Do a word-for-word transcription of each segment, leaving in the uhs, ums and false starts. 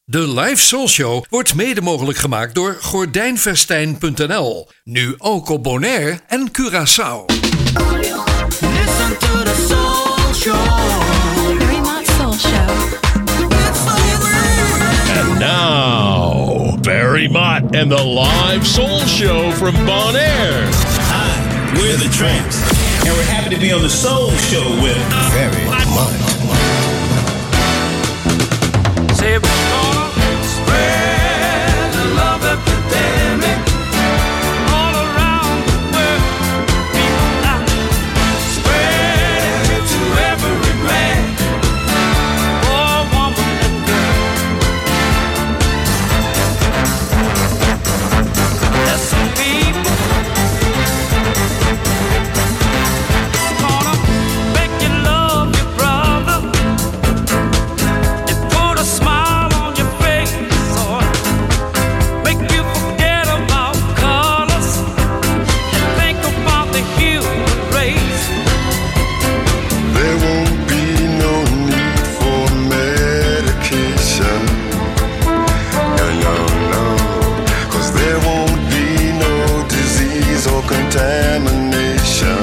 De Live Soul Show wordt mede mogelijk gemaakt door gordijnvestijn punt n l. Nu ook op Bonaire en Curaçao. Listen to the Soul Show. Very much Soul Show. And now, Barry Mott and the Live Soul Show from Bonaire. Hi, we're the Tramps, and we're happy to be on the Soul Show with Barry Mott. Say we're gonna spread the love epidemic all around the world. People now spread it to every man, boy, woman, and girl. There's some people gonna make you love your brother. They put a smile on your face, or make you forget about colors and think about the human race. There won't be no need for medication. No, no, no. 'Cause there won't be no disease or contamination.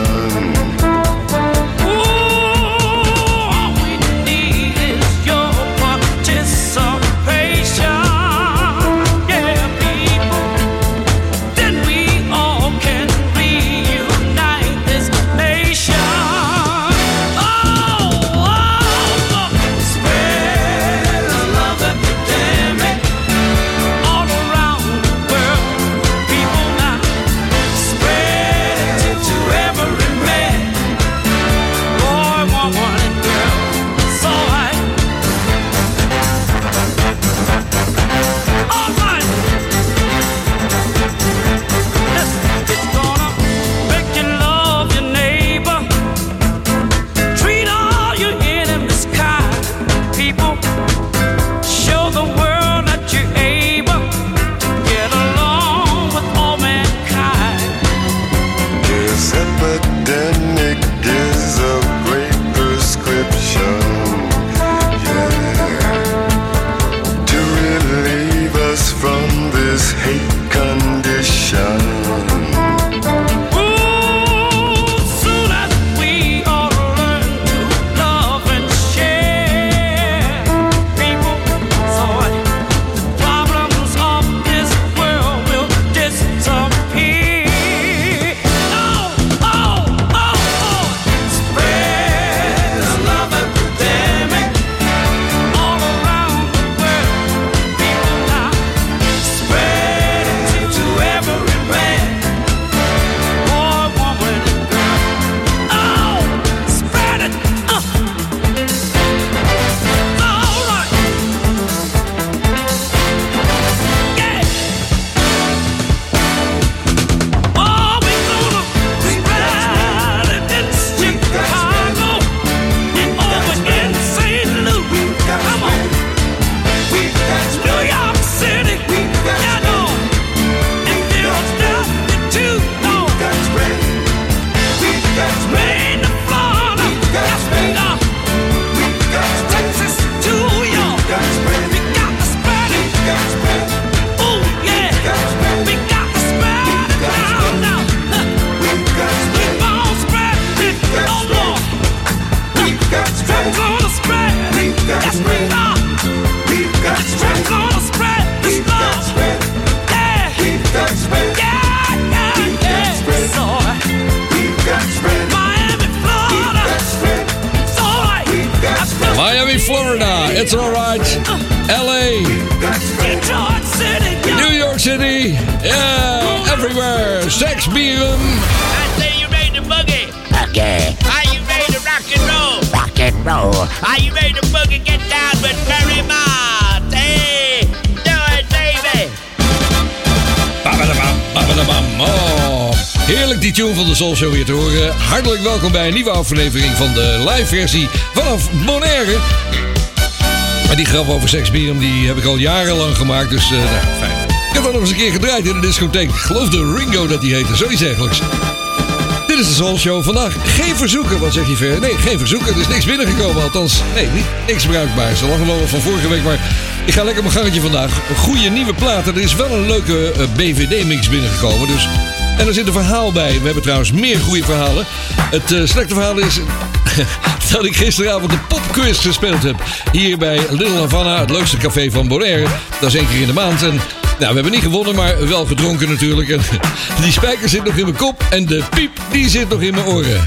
Ooh, all we need is your participation. Yeah, people. Then we all can reunite this nation. Oh, oh, oh. Spread the love epidemic all around the world. People now spread it to every man, boy, woman, and girl. So I, all right. Listen, it's gonna make you love your neighbor. Treat all your enemies kind, people. Show the world that you're able to get along with all mankind. This epidemic is a great prescription. Yeah. To relieve us from this hate condition. Ooh, soon as we all learn to love and share, people, so the problems of this world will disappear. Oh, oh, oh, oh. Spread the love epidemic all around the world. People now spread it to every man, boy, woman, and girl. Oh, spread it. Uh. All right. Yeah. Oh, we gonna spread it in Chicago and over in Saint Louis. Come on. New York City. Yeah, no. And Philadelphia too. No. Maine to Florida. Yes, we are. Texas to York. We got to spread it. Ooh, yeah. We got to spread it down now. We gon' spread it. Oh, Lord. We're gonna spread it. Yes, we are. We're gonna spread this love. Yeah. Yeah, yeah, yeah. So, Miami, Florida. It's all right. That's good. Miami, Florida, it's alright. L A, Detroit City. New York City, yeah, everywhere. Sex Beam. I say you made the boogie. Okay, Are you ready to rock and roll? rock and roll. Are you ready to boogie? Get down with Barry Mott. Hey, do it, baby. Babadabam, babadabam. Oh, heerlijk die tune van de Soul Show weer te horen. Hartelijk welkom bij een nieuwe aflevering van de live versie vanaf Bonaire. Maar die grap over Sex Beam, die heb ik al jarenlang gemaakt, dus uh, nou, fijn. Ik heb dat nog eens een keer gedraaid in de discotheek. Ik geloof de Ringo dat die heette, zoiets eigenlijk. Dit is de Soul Show. Vandaag geen verzoeken. Wat zeg je ver? Nee, geen verzoeken. Er is niks binnengekomen. Althans, nee, niet, niks bruikbaars. Ze lachen wel wat van vorige week, maar ik ga lekker mijn gangetje vandaag. Goede nieuwe platen. Er is wel een leuke uh, B V D-mix binnengekomen. Dus, en er zit een verhaal bij. We hebben trouwens meer goede verhalen. Het uh, slechte verhaal is dat ik gisteravond de popquiz gespeeld heb. Hier bij Little Havana, het leukste café van Bonaire. Dat is één keer in de maand. En nou, we hebben niet gewonnen, maar wel gedronken natuurlijk. En die spijker zit nog in mijn kop en de piep, die zit nog in mijn oren.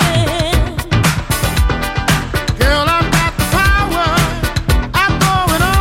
Girl, I've got the power. I'm going on.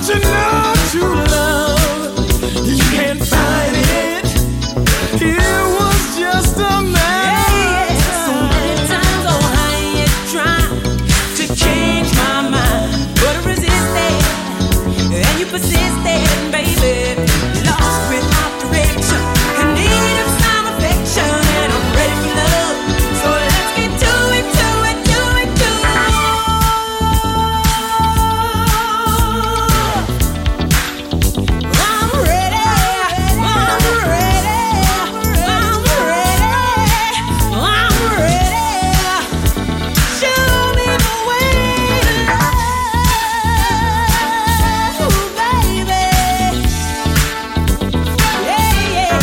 Don't you know true love? You can't find it. It was just a man. So many times, oh, I ain't trying to change my mind, but I resisted, and you persisted, baby. Lost without direction, in need of some affection, and I'm ready for love. So let's get to it, to it, to it, to it. I'm ready, I'm ready, I'm ready, I'm ready. Show me the way to love, baby. Yeah, yeah.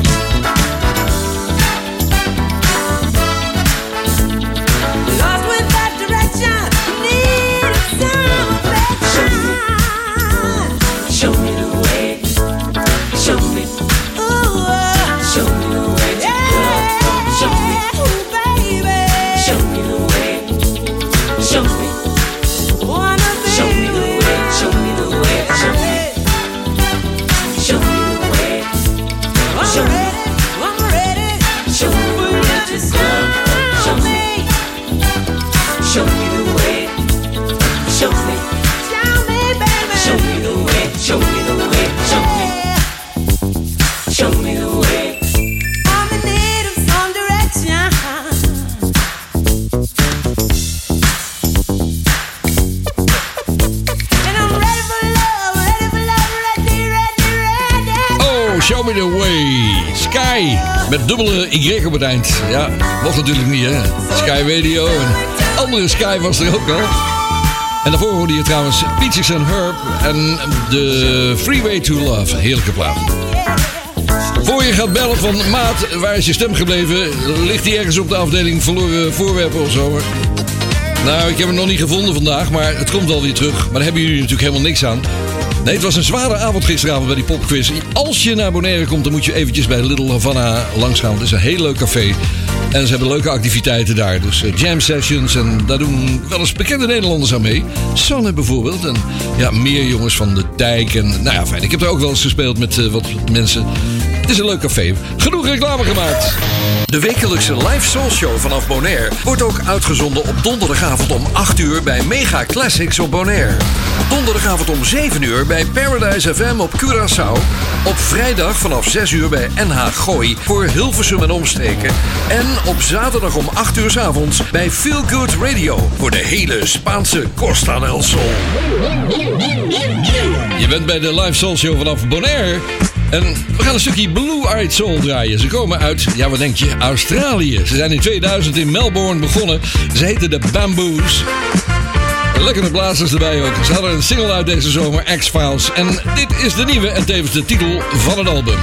Lost without direction, need some affection. Show me the way, show me, ooh, show me the way to love. Show me, baby, show me the way, show me, wanna be show me the way, show me the way, show me, show me the way, show me, I'm ready, show me the way to love. Show me, show me the way, show me, show me, baby, show me the way, show me the way, show me, show me the way. I'm in need of some direction. And I'm ready for love, ready for love, ready, ready, ready. Oh, Show Me The Way. Sky. Met dubbele Y op het eind. Ja, mocht natuurlijk niet, hè. Sky Radio en andere Sky was er ook al. En daarvoor hoorde je trouwens Peaches and Herb en de Freeway to Love. Heerlijke plaat. Voor je gaat bellen van maat, waar is je stem gebleven? Ligt die ergens op de afdeling verloren voorwerpen of zo? Nou, ik heb hem nog niet gevonden vandaag, maar het komt wel weer terug. Maar daar hebben jullie natuurlijk helemaal niks aan. Nee, het was een zware avond gisteravond bij die popquiz. Als je naar Bonaire komt, dan moet je eventjes bij Little Havana langsgaan. Het is een heel leuk café. En ze hebben leuke activiteiten daar. Dus uh, jam sessions. En daar doen wel eens bekende Nederlanders aan mee. Sanne bijvoorbeeld. En ja, meer jongens van de Dijk. En nou ja, fijn. Ik heb er ook wel eens gespeeld met uh, wat mensen. Het is een leuk café. Genoeg reclame gemaakt. De wekelijkse live soul show vanaf Bonaire wordt ook uitgezonden op donderdagavond om acht uur bij Mega Classics op Bonaire. Donderdagavond om zeven uur bij Paradise F M op Curaçao. Op vrijdag vanaf zes uur bij N H Gooi voor Hilversum en omstreken. En op zaterdag om acht uur 's avonds bij Feel Good Radio voor de hele Spaanse Costa del Sol. Je bent bij de live soul show vanaf Bonaire. En we gaan een stukje Blue Eyed Soul draaien. Ze komen uit, ja wat denk je, Australië. Ze zijn in tweeduizend in Melbourne begonnen. Ze heten de Bamboos. Lekkere blazers erbij ook. Ze hadden een single uit deze zomer, X-Files. En dit is de nieuwe en tevens de titel van het album.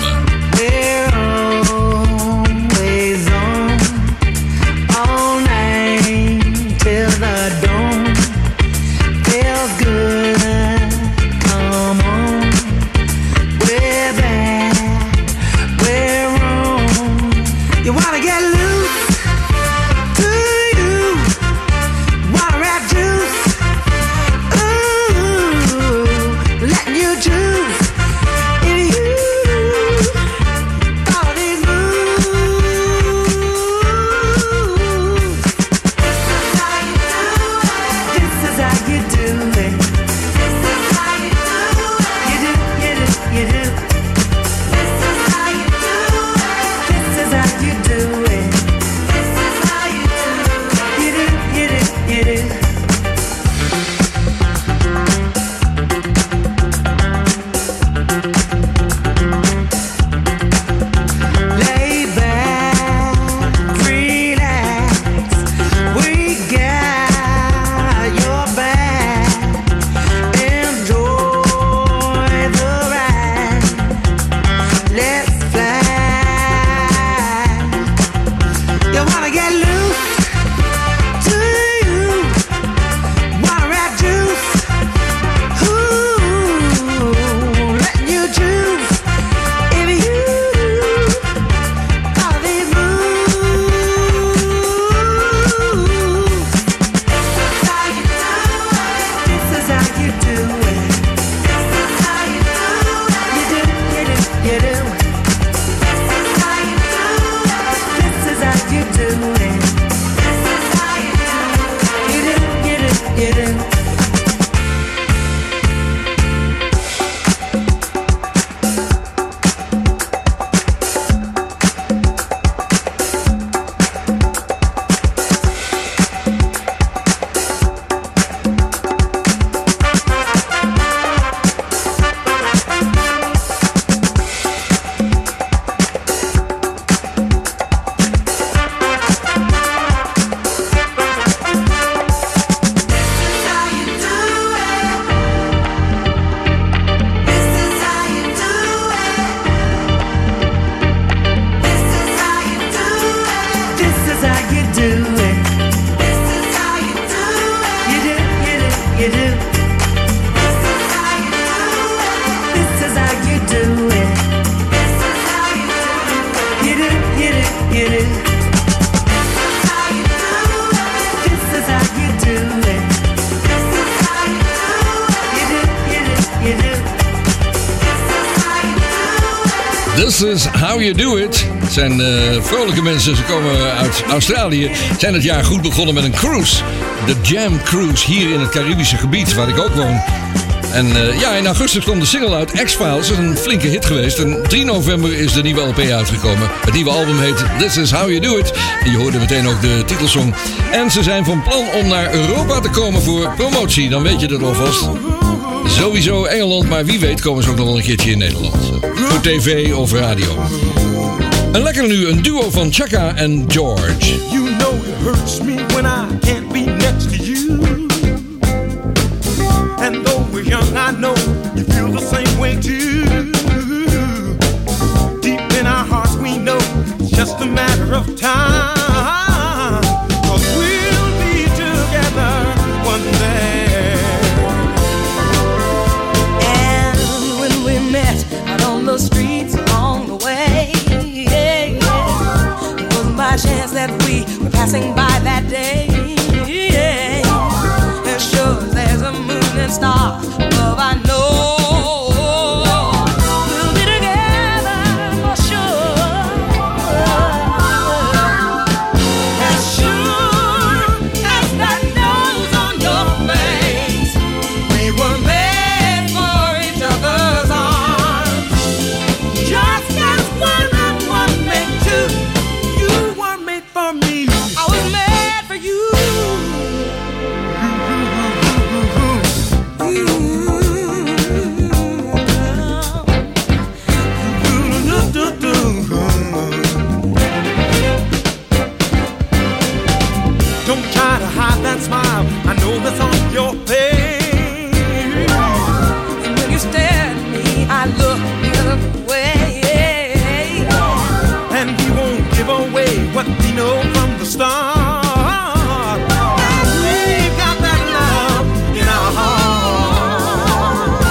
Letting you choose if you you do. This is how you do it. This is how you do it. You do, you do, you do. This is how you do it. Het zijn uh, vrolijke mensen, ze komen uit Australië. Zijn het jaar goed begonnen met een cruise. De Jam Cruise hier in het Caribische gebied, waar ik ook woon. En uh, ja, in augustus kwam de single uit, X-Files. Dat is een flinke hit geweest. En drie november is de nieuwe L P uitgekomen. Het nieuwe album heet This Is How You Do It. En je hoorde meteen ook de titelsong. En ze zijn van plan om naar Europa te komen voor promotie. Dan weet je dat alvast. Sowieso Engeland, maar wie weet komen ze ook nog wel een keertje in Nederland. Voor tv of radio. En lekker nu, een duo van Chaka en George. You know it hurts me when I can't be next to you. And though we're young, I know you feel the same way too. Deep in our hearts we know it's just a matter of time. 'Cause we'll be together one day. And when we met out on the streets along the way, yeah, yeah, it was my chance that we were passing by that day. Yeah, as sure as there's a moon and star above, I know we'll be together for sure. As sure as that nose on your face, we were made for each other's arms. Just as one and one made two, You were made for me. I was made for you. Don't try to hide that smile. I know that's on your face. And when you stare at me, I look the other way. And we won't give away what we know from the start. We've got that love in our hearts.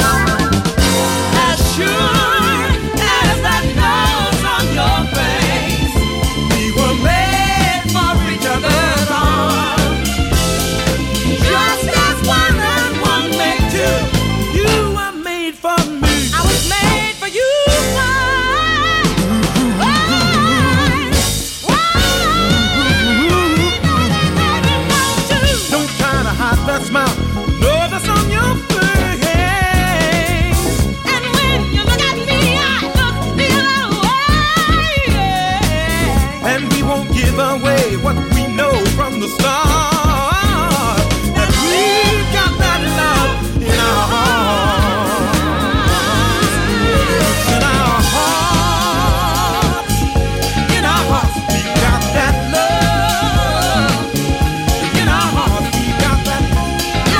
As sure as that nose on your face, We were made for each other's arms. Just as one and one make two, You were made for me. I was made for you. Don't try to hide that smile. No, that's on your face. And when you look at me, I look the other way. And we won't give away what we know from the start. That we've got that love in our hearts. In our hearts. In our hearts. We've got that love. In our hearts. We've got that love.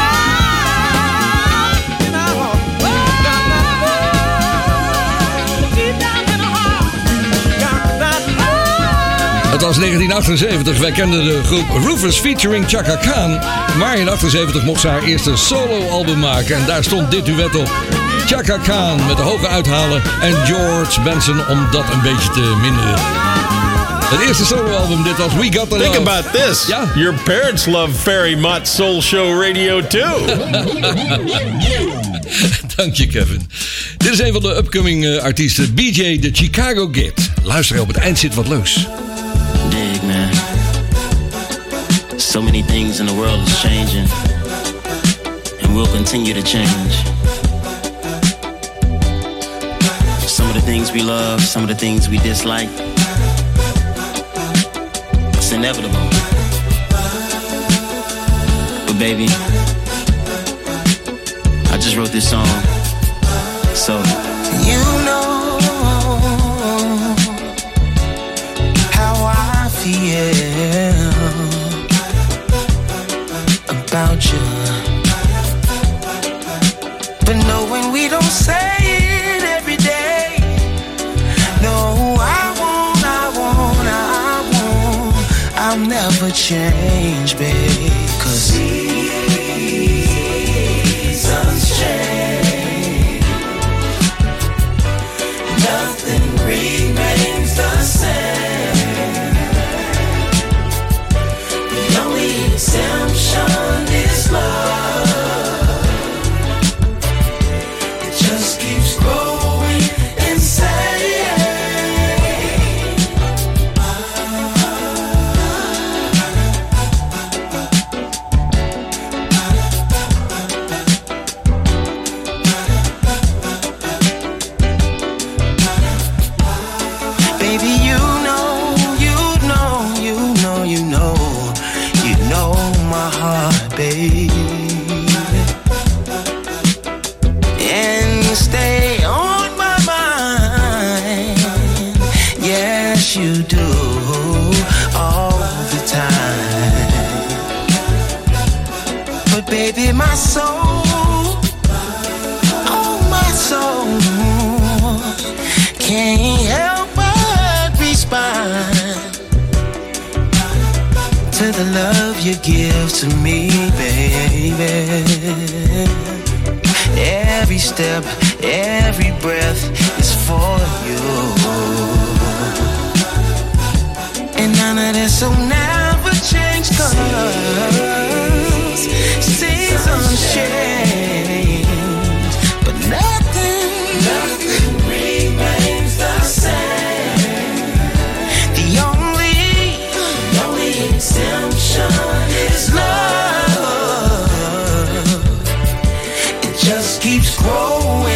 In our hearts. We've got that love. Deep down in our heart. Got that love. Het was negentien achtenzeventig. Wij kenden de groep Rufus featuring Chaka Khan. Maar in achtenzeventig mocht ze haar eerste solo-album maken. En daar stond dit duet op. Chaka Khan met de hoge uithalen. En George Benson om dat een beetje te minderen. Het eerste solo-album, dit was We Got The Love. Think about this. Ja. Your parents love Ferry Mott Soul Show Radio too. Dank je, Kevin. Dit is een van de upcoming uh, artiesten. B J, de Chicago Kid. Luister, op het eind zit wat leuks. Dig, man. So many things in the world is changing, and will continue to change. Some of the things we love, some of the things we dislike. It's inevitable. But baby, I just wrote this song, so You know how I feel about you. But knowing we don't say it every day. No, I won't, I won't, I won't. I'll never change, babe. 'Cause seasons change. Nothing remains the same. all the time. But baby, my soul, oh my soul, can't help but respond to the love you give to me, baby. Every step, every breath is for you. And none of this will never change, 'cause seasons change, but nothing, nothing remains the same. The only, the only exemption is love. It just keeps growing.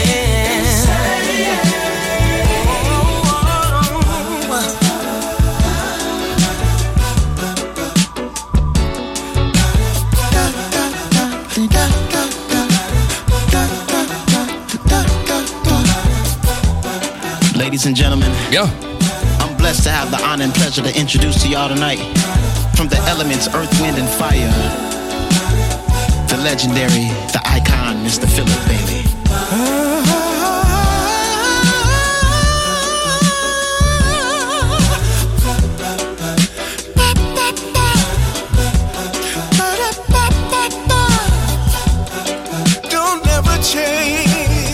Ladies and gentlemen, yeah, I'm blessed to have the honor and pleasure to introduce to y'all tonight, from the elements Earth, Wind, and Fire, the legendary, the icon, Mister Philip Bailey. Don't ever change.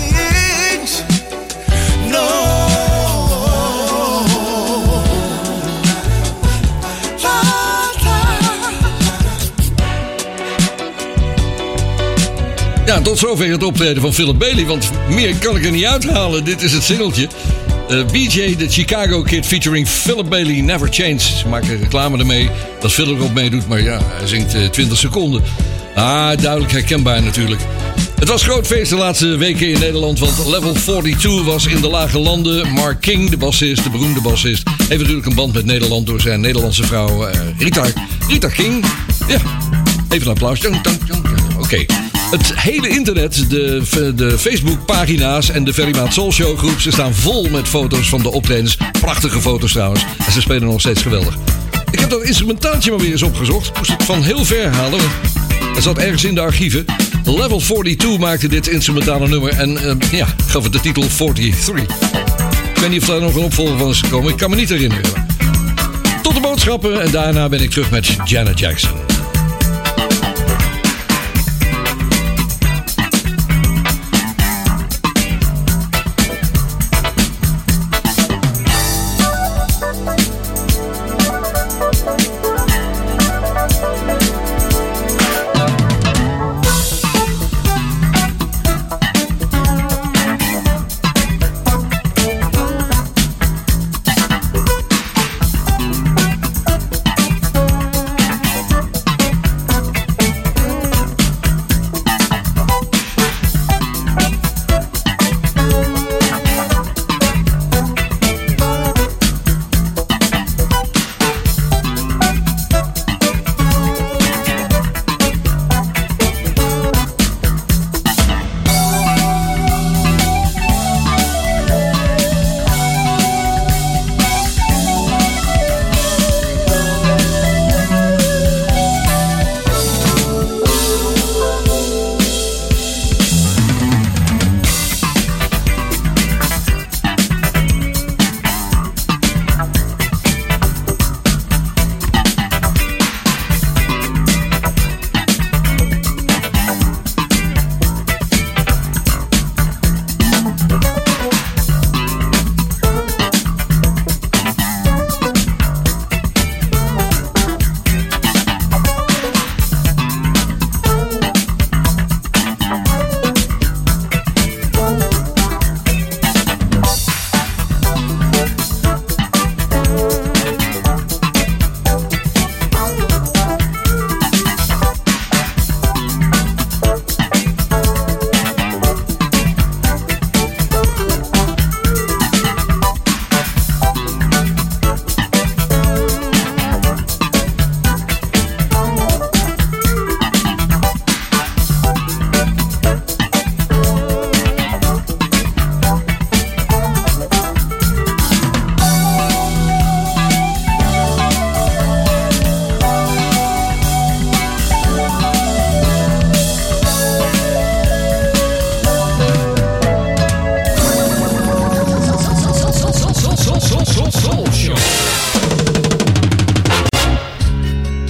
Ja, tot zover het optreden van Philip Bailey, want meer kan ik er niet uithalen. Dit is het singeltje. Uh, B J, de Chicago Kid, featuring Philip Bailey, Never Change. Ze maken reclame ermee dat Philip erop meedoet, maar ja, hij zingt uh, twintig seconden. Ah, duidelijk herkenbaar natuurlijk. Het was groot feest de laatste weken in Nederland, want Level tweeënveertig was in de lage landen. Mark King, de bassist, de beroemde bassist, heeft natuurlijk een band met Nederland door zijn Nederlandse vrouw uh, Rita, Rita King. Ja, even een applaus. Oké. Okay. Het hele internet, de, de Facebookpagina's en de Ferry Maat Soul Show groep, ze staan vol met foto's van de optredens. Prachtige foto's trouwens. En ze spelen nog steeds geweldig. Ik heb dat instrumentaaltje maar weer eens opgezocht. Ik moest het van heel ver halen. Het zat ergens in de archieven. Level tweeënveertig maakte dit instrumentale nummer en uh, ja, gaf het de titel drieënveertig. Ik weet niet of daar nog een opvolger van is gekomen. Ik kan me niet herinneren. Tot de boodschappen en daarna ben ik terug met Janet Jackson.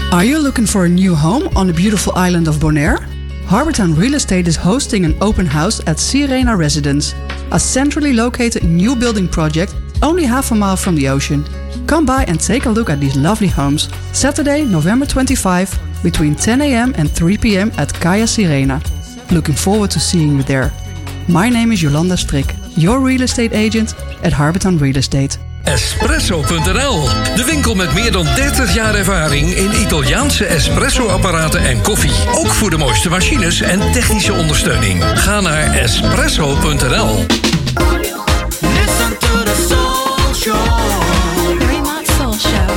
Are you looking for a new home on the beautiful island of Bonaire? Harbortown Real Estate is hosting an open house at Sirena Residence, a centrally located new building project only half a mile from the ocean. Come by and take a look at these lovely homes. Saturday, November twenty-fifth, between ten a.m. and three p.m. at Kaya Sirena. Looking forward to seeing you there. My name is Jolanda Strik, your real estate agent at Harbortown Real Estate. Espresso punt n l, de winkel met meer dan dertig jaar ervaring in Italiaanse espresso-apparaten en koffie. Ook voor de mooiste machines en technische ondersteuning. Ga naar espresso punt n l. Listen to the Soul Show. Fremont Soul Show.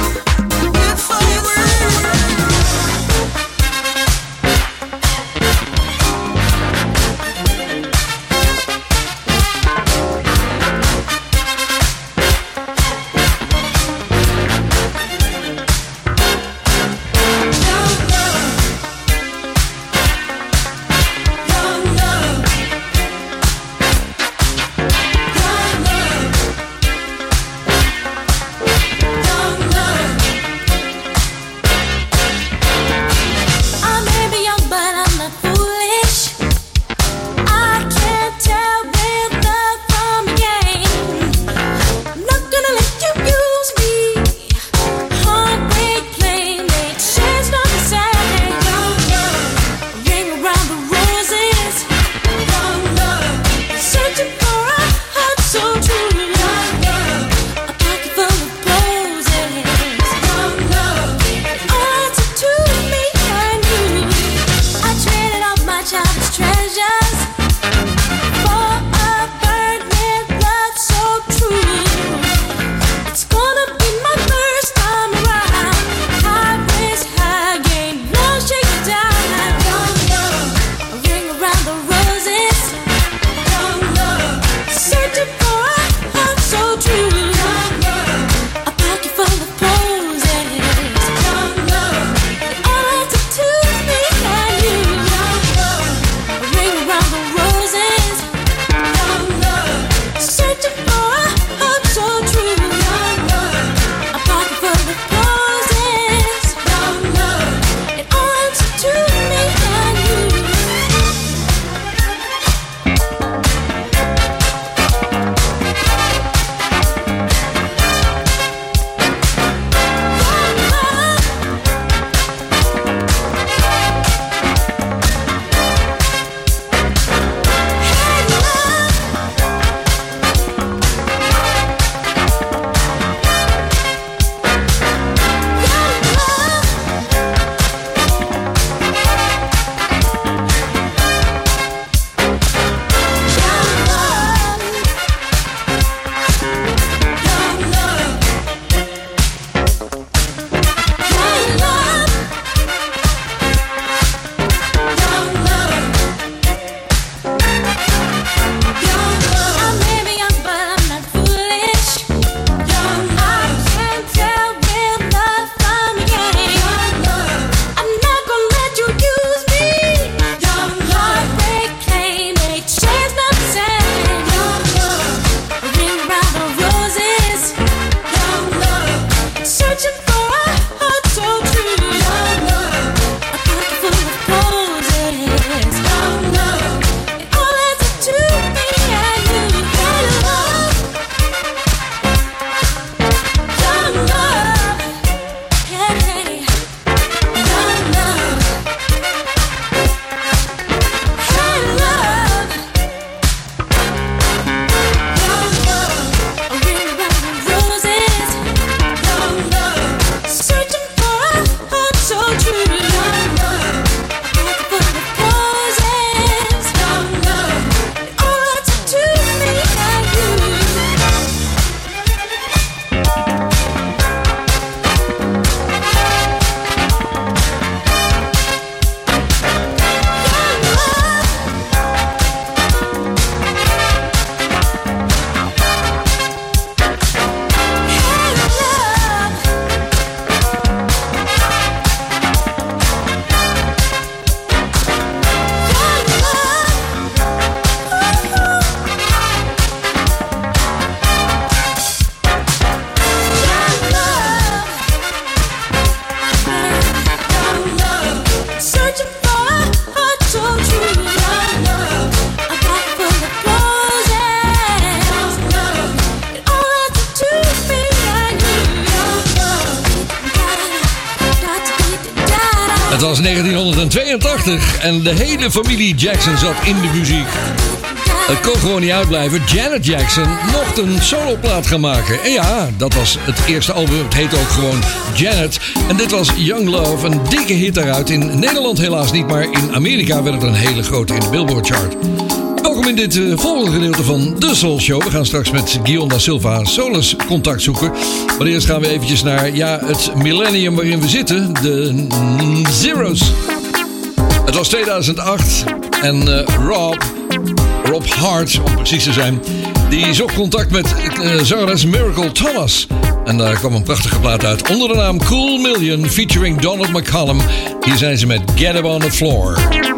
was negentienhonderdtweeëntachtig en de hele familie Jackson zat in de muziek. Het kon gewoon niet uitblijven. Janet Jackson mocht een soloplaat gaan maken. En ja, dat was het eerste album. Het heette ook gewoon Janet. En dit was Young Love, een dikke hit daaruit. In Nederland helaas niet, maar in Amerika werd het een hele grote in de Billboard chart. Welkom in dit uh, volgende gedeelte van The Soul Show. We gaan straks met Guion da Silva Solis contact zoeken. Maar eerst gaan we eventjes naar ja, het millennium waarin we zitten. De mm, Zeros. Het was tweeduizend acht en uh, Rob... Rob Hart, om precies te zijn, die zocht contact met uh, zangeres Miracle Thomas. En daar kwam een prachtige plaat uit onder de naam Cool Million featuring Donald McCollum. Hier zijn ze met Get Up on the Floor.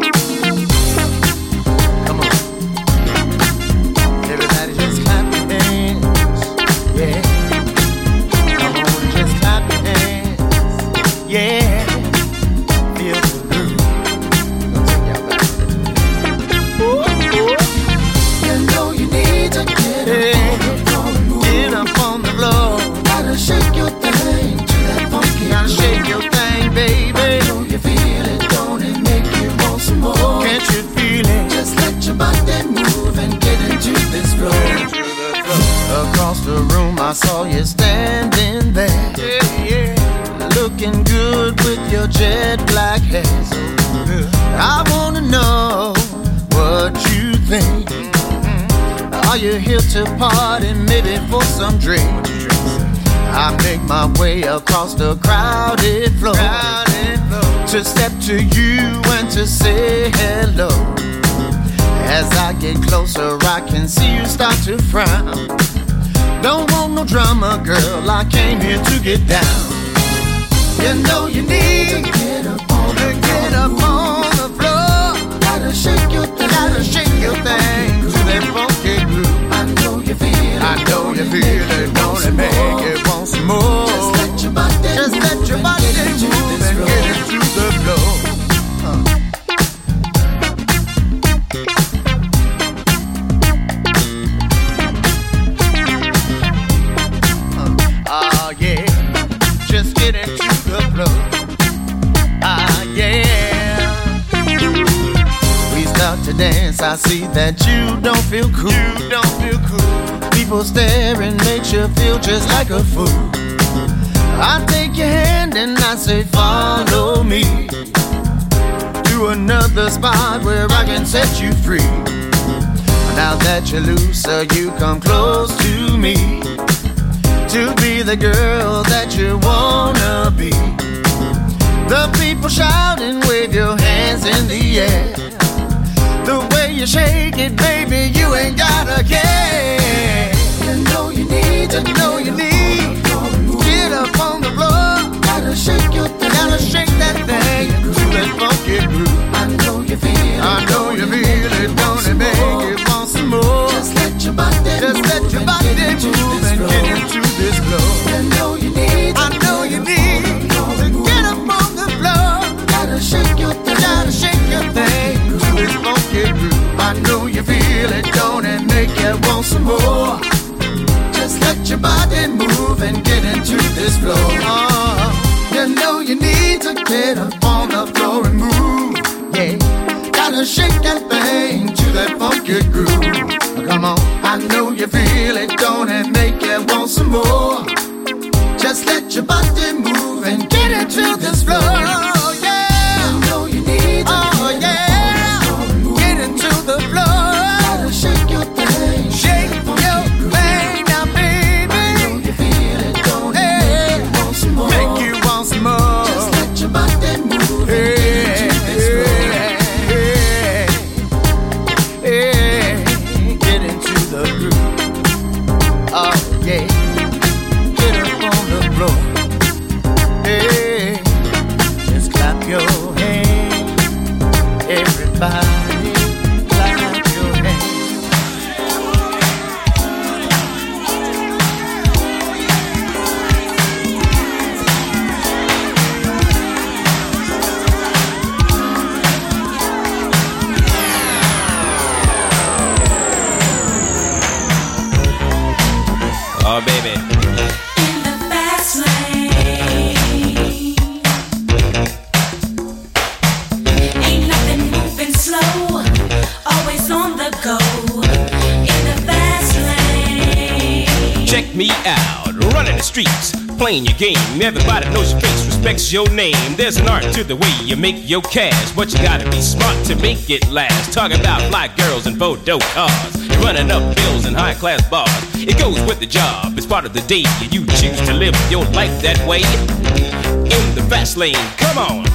I saw you standing there, yeah, yeah. Looking good with your jet black hair. So I wanna know what you think. Are you here to party, maybe for some drink? I make my way across the crowded floor, to step to you and to say hello. As I get closer, I can see you start to frown. Don't want no drama, girl, I came here to get down. You know you need to get up on the, get up on the floor. Gotta shake your thing, gotta shake your thing to that funky groove. I know you feel it, I know you feel it, don't it make it want some more? Just let your body, just let your body move and get into the flow. Dance, I see that you don't feel cool. You don't feel cool. People staring makes you feel just like a fool. I take your hand and I say follow me to another spot where I can set you free. Now that you're looser, you come close to me to be the girl that you wanna be. The people shout and wave your hands in the air. The way you shake it, baby, you ain't gotta care. You know you need to know you need. Get up on the floor. Gotta shake your thing. Gotta shake that thing to that funky groove. I know you feel it. I know you feel it. Don't it make it want some more? Just let your body Just let your body move and get into this flow. You know you need. I know you need to get up on the floor. Gotta shake your thing. Gotta shake your thing. This funky groove, I know you feel it, don't it make you want some more? Just let your body move and get into this flow. Oh, you know you need to get up on the floor and move. Yeah, gotta shake that thing to that funky groove. Come on, I know you feel it, don't it make you want some more? Just let your body move and get into this flow. Yeah, I know you need to. Oh yeah. The floor. Gotta shake your thing. Shake your thing now, baby. I know you feel it, don't hey. It? Make you want some more. Make you want some more. Just let your body move hey. And get into this hey. Hey. Hey. Get into the groove. Oh, yeah. Get up on the floor. streets, playing your game. Everybody knows your face, respects your name. There's an art to the way you make your cash, but you gotta be smart to make it last. Talking about fly girls and photo cars, you're running up bills in high-class bars. It goes with the job, it's part of the day. You choose to live your life that way. In the fast lane, come on.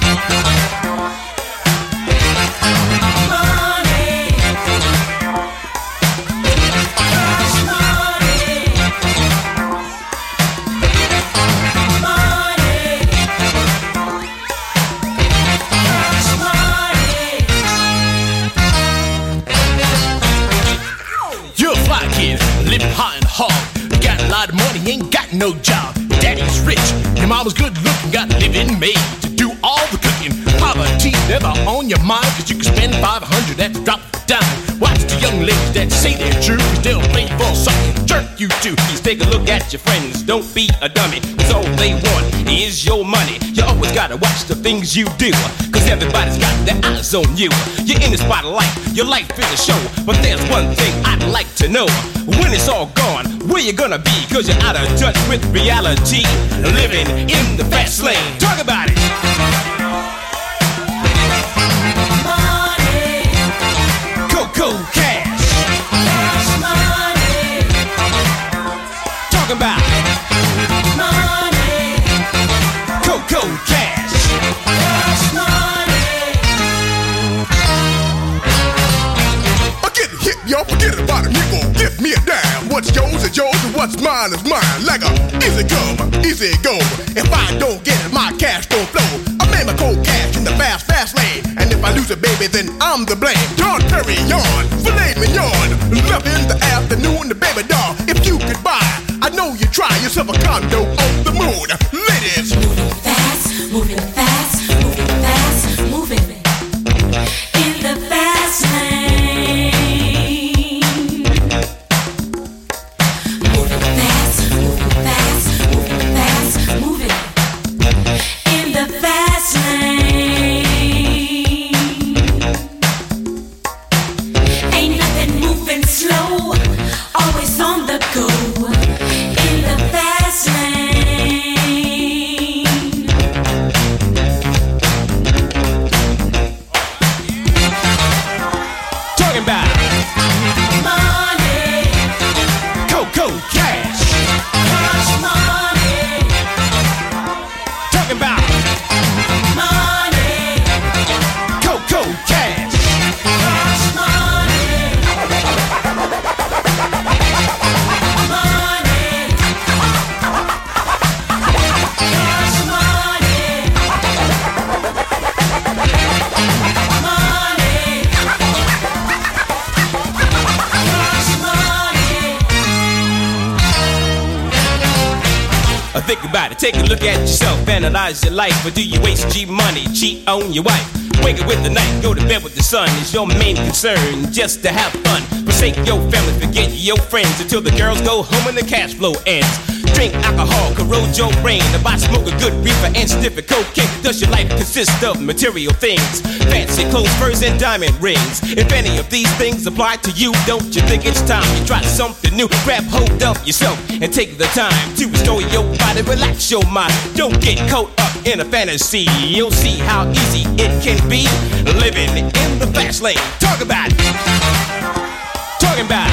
Live high and hard, you got a lot of money, ain't got no job. Daddy's rich, your mama's good looking, got a living made to do all the cooking. Poverty never on your mind, cause you can spend five hundred at the drop of a dime. Watch the young ladies that say they're true, cause they'll play for something jerk you do. Please take a look at your friends, don't be a dummy, cause all they want is your money. You always gotta watch the things you do, cause everybody's got their eyes on you. You're in the spotlight, your life is a show, but there's one thing I'd like to know. When it's all gone, where you gonna be? Cause you're out of touch with reality, living in the fast lane. Talk about it. Money. Coco cash. Cash money. Talk about it. Money. Coco cash. Cash money. Get it hip, y'all, forget about it, nigga. Give me a dime. What's yours is yours and what's mine is mine. Like a easy come, easy go. If I don't get it, my cash don't flow. I made my cold cash in the fast, fast lane. And if I lose it, baby, then I'm the blame. John Perry, yawn, filet mignon. Love in the afternoon, the baby doll. If you could buy, I know you try yourself a condo on the moon. Ladies. Moving fast, moving fast, moving fast, moving in the fast lane. Think about it, take a look at yourself, analyze your life. Or do you waste G money, cheat on your wife? Wake up with the night, go to bed with the sun is your main concern, just to have fun. Forsake your family, forget your friends until the girls go home and the cash flow ends. Drink alcohol, corrode your brain. If I smoke a good reefer and sniff a cocaine, does your life consist of material things? Fancy clothes, furs, and diamond rings. If any of these things apply to you, don't you think it's time you try something new? Grab hold of yourself and take the time to restore your body, relax your mind. Don't get caught up in a fantasy. You'll see how easy it can be living in the fast lane. Talk about it. Talking about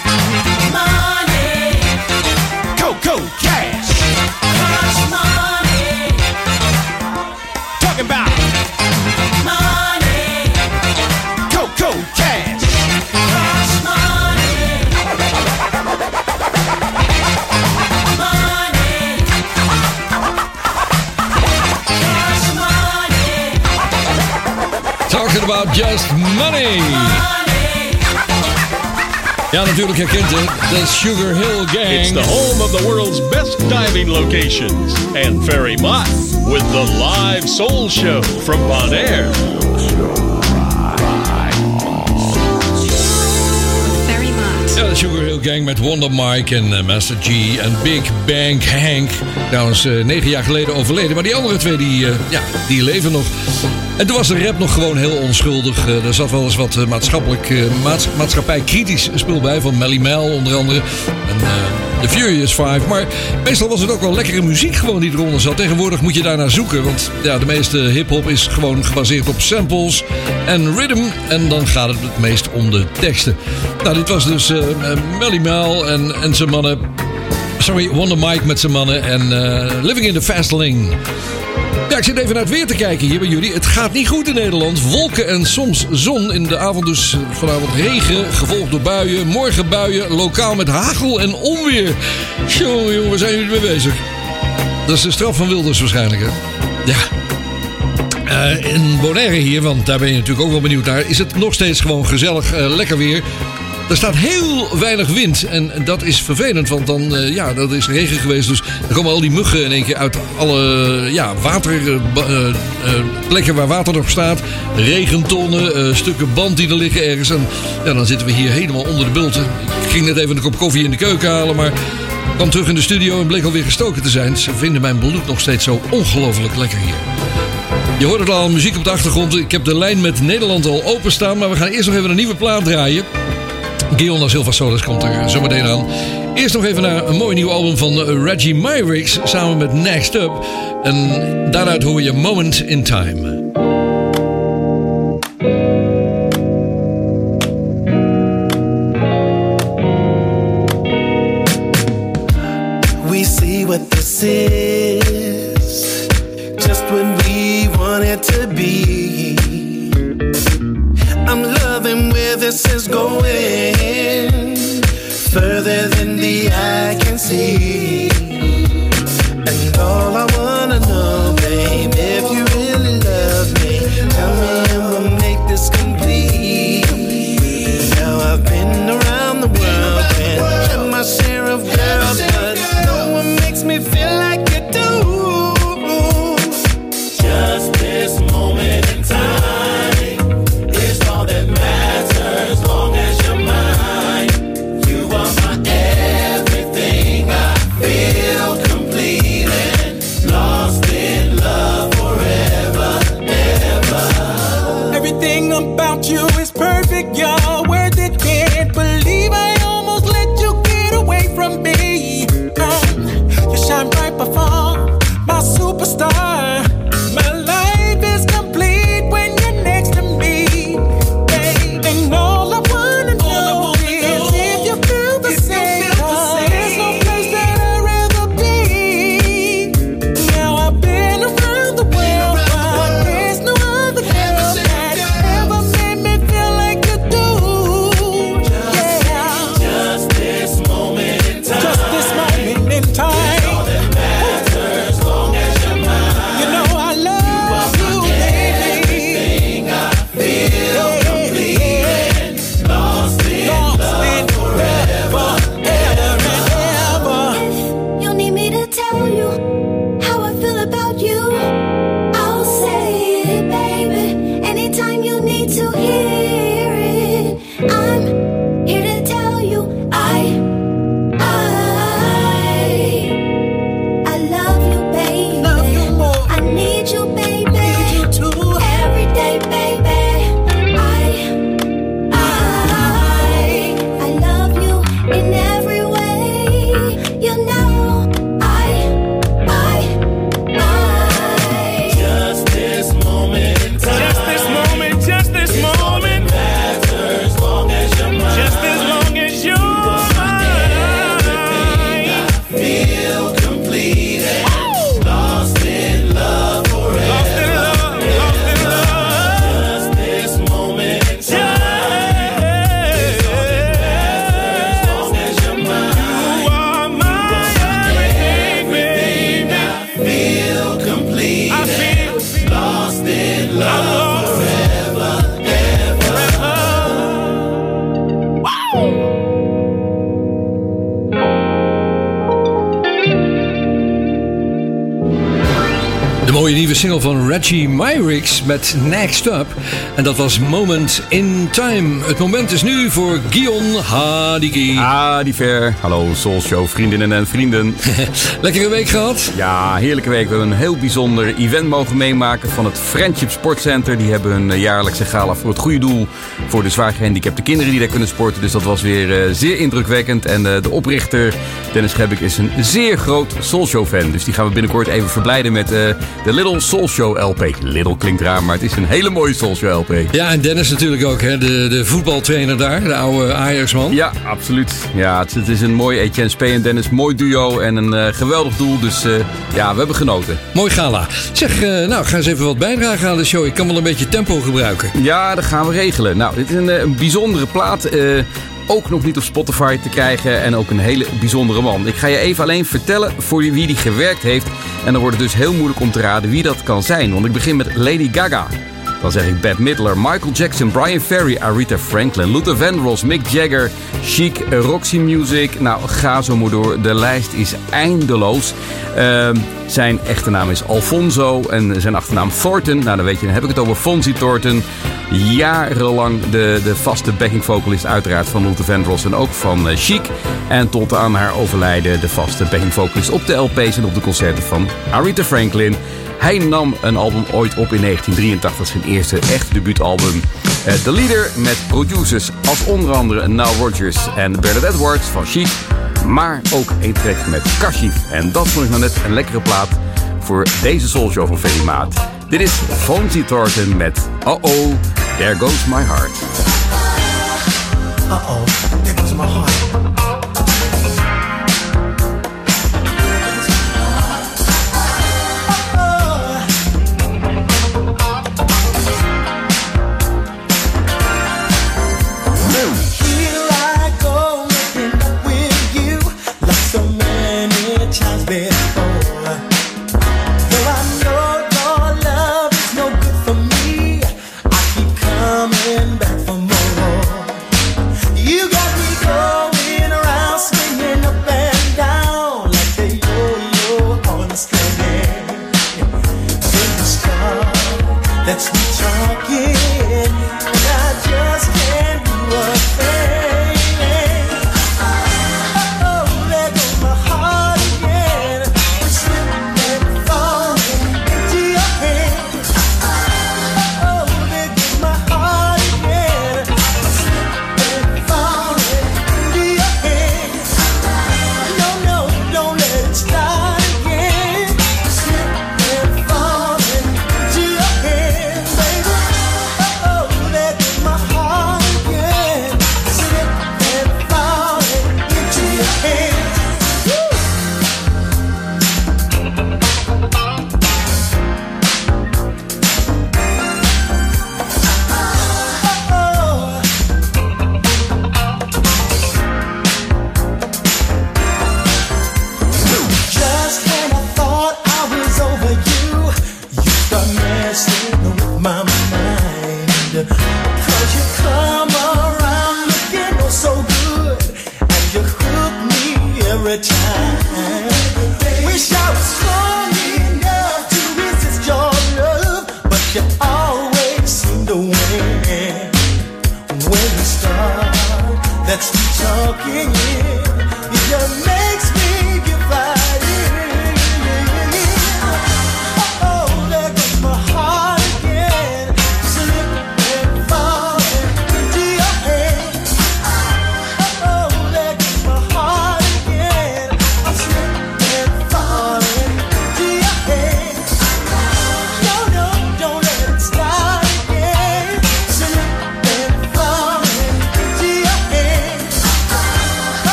money. Coco cash. Cash money. Talking about money. Coco cash. Cash money. Money. Cash money. Talking about just money. Ja, natuurlijk herkent het. The Sugar Hill Gang. It's the home of the world's best diving locations. And Ferry Mott with the live soul show from Bonaire. Ferry Mott. Ja, de Sugar Hill Gang met Wonder Mike en uh, Master G en Big Bang Hank. Trouwens, uh, negen jaar geleden overleden. Maar die andere twee, die, uh, ja, die leven nog. En toen was de rap nog gewoon heel onschuldig. Uh, er zat wel eens wat uh, maatschappelijk, uh, maats- maatschappij kritisch spul bij. Van Melly Mel onder andere. En uh, The Furious Five. Maar meestal was het ook wel lekkere muziek gewoon die eronder zat. Tegenwoordig moet je daarnaar zoeken. Want ja, de meeste hip-hop is gewoon gebaseerd op samples en rhythm. En dan gaat het het meest om de teksten. Nou, dit was dus uh, Melly Mel en, en zijn mannen. Sorry, Wonder Mike met zijn mannen. En uh, Living in the Fast Lane. Ja, ik zit even naar het weer te kijken hier bij jullie. Het gaat niet goed in Nederland. Wolken en soms zon. In de avond dus vanavond regen, gevolgd door buien. Morgen buien, lokaal met hagel en onweer. Jongen, jongen, waar zijn jullie mee bezig? Dat is de straf van Wilders waarschijnlijk, hè? Ja. Uh, in Bonaire hier, want daar ben je natuurlijk ook wel benieuwd naar, is het nog steeds gewoon gezellig, uh, lekker weer. Er staat heel weinig wind en dat is vervelend, want dan, uh, ja, dat is regen geweest. Dus er komen al die muggen in één keer uit alle ja, water, uh, uh, plekken waar water nog staat. Regentonnen, uh, stukken band die er liggen ergens. En ja, dan zitten we hier helemaal onder de bulten. Ik ging net even een kop koffie in de keuken halen, maar kwam terug in de studio en bleek alweer gestoken te zijn. Ze vinden mijn bloed nog steeds zo ongelooflijk lekker hier. Je hoort het al, muziek op de achtergrond. Ik heb de lijn met Nederland al openstaan, maar we gaan eerst nog even een nieuwe plaat draaien. Guion Silva Solis komt er zo meteen aan. Eerst nog even naar een mooi nieuw album van Reggie Myrick samen met Next Up. En daaruit hoor je Moment in Time. We see what this is, just when we want it to be. I'm loving where this is going, further than the eye can see. And all I wanna know, babe, if you really love me, tell me and we'll make this complete. Now I've been around the world and had my share of girls, but no one makes me feel like you do. Just this moment in time is all that matters, long as you're mine. You are my everything. I feel complete and lost in love forever, ever. Everything about you is perfect, you're worth it. Can't believe I almost let you get away from me. Um, you shine right before my superstar. My life is complete when you're next to me. Babe, and all I wanna know is if you feel the same. There's no place that I'd rather be. Now I've been around the world, but there's no other girl that ever made me feel mooie nieuwe single van Reggie Myrick met Next Up. En dat was Moment in Time. Het moment is nu voor Guion Hadiki. Hadiver. Hallo Soul Show vriendinnen en vrienden. Lekkere week gehad? Ja, heerlijke week. We hebben een heel bijzonder event mogen meemaken van het Friendship Sportcenter. Die hebben een jaarlijkse gala voor het goede doel. Voor de zwaar gehandicapte kinderen die daar kunnen sporten. Dus dat was weer uh, zeer indrukwekkend. En uh, de oprichter Dennis Gebbik is een zeer groot Soul Show fan. Dus die gaan we binnenkort even verblijden met uh, de Little Soul Show L P. Little klinkt raar, maar het is een hele mooie Soul Show L P. Ja, en Dennis natuurlijk ook, hè? De, de voetbaltrainer daar, de oude Ajax-man. Ja, absoluut. Ja, het, het is een mooi Etienne Spee en Dennis, mooi duo en een uh, geweldig doel. Dus uh, ja, we hebben genoten. Mooi gala. Zeg, uh, nou, ga eens even wat bijdragen aan de show. Ik kan wel een beetje tempo gebruiken. Ja, dat gaan we regelen. Nou, dit is een, een bijzondere plaat. Uh, Ook nog niet op Spotify te krijgen en ook een hele bijzondere man. Ik ga je even alleen vertellen voor wie die gewerkt heeft. En dan wordt het dus heel moeilijk om te raden wie dat kan zijn. Want ik begin met Lady Gaga. Dan zeg ik Bette Midler, Michael Jackson, Brian Ferry, Aretha Franklin, Luther Vandross, Mick Jagger, Chic, Roxy Music. Nou, ga zo maar door. De lijst is eindeloos. Uh, zijn echte naam is Alfonso en zijn achternaam Thornton. Nou, dan weet je, dan heb ik het over Fonzie Thornton. Jarenlang de, de vaste backing vocalist uiteraard van Luther Vandross en ook van uh, Chic. En tot aan haar overlijden de vaste backing vocalist op de L P's en op de concerten van Aretha Franklin. Hij nam een album ooit op in negentien drieëntachtig, zijn eerste echte debuutalbum. Uh, The Leader met producers als onder andere Nile Rodgers en Bernadette Edwards van Chic. Maar ook een track met Kashif. En dat vond ik nou net een lekkere plaat voor deze Soul Show van Ferry Maat. Dit is Fonzie Thornton met Uh-oh, There Goes My Heart. Uh-oh, there goes my heart.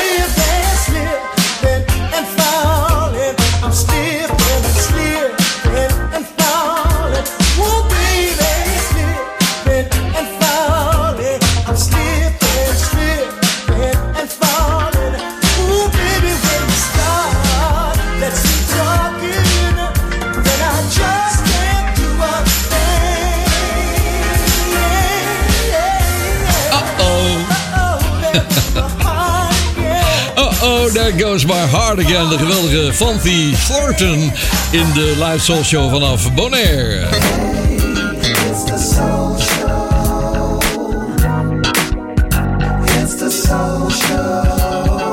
Slipping, There Goes My Heart Again. De geweldige Fancy Thornton in de Live Soul Show vanaf Bonaire. It's the Soul Show. It's the Soul Show.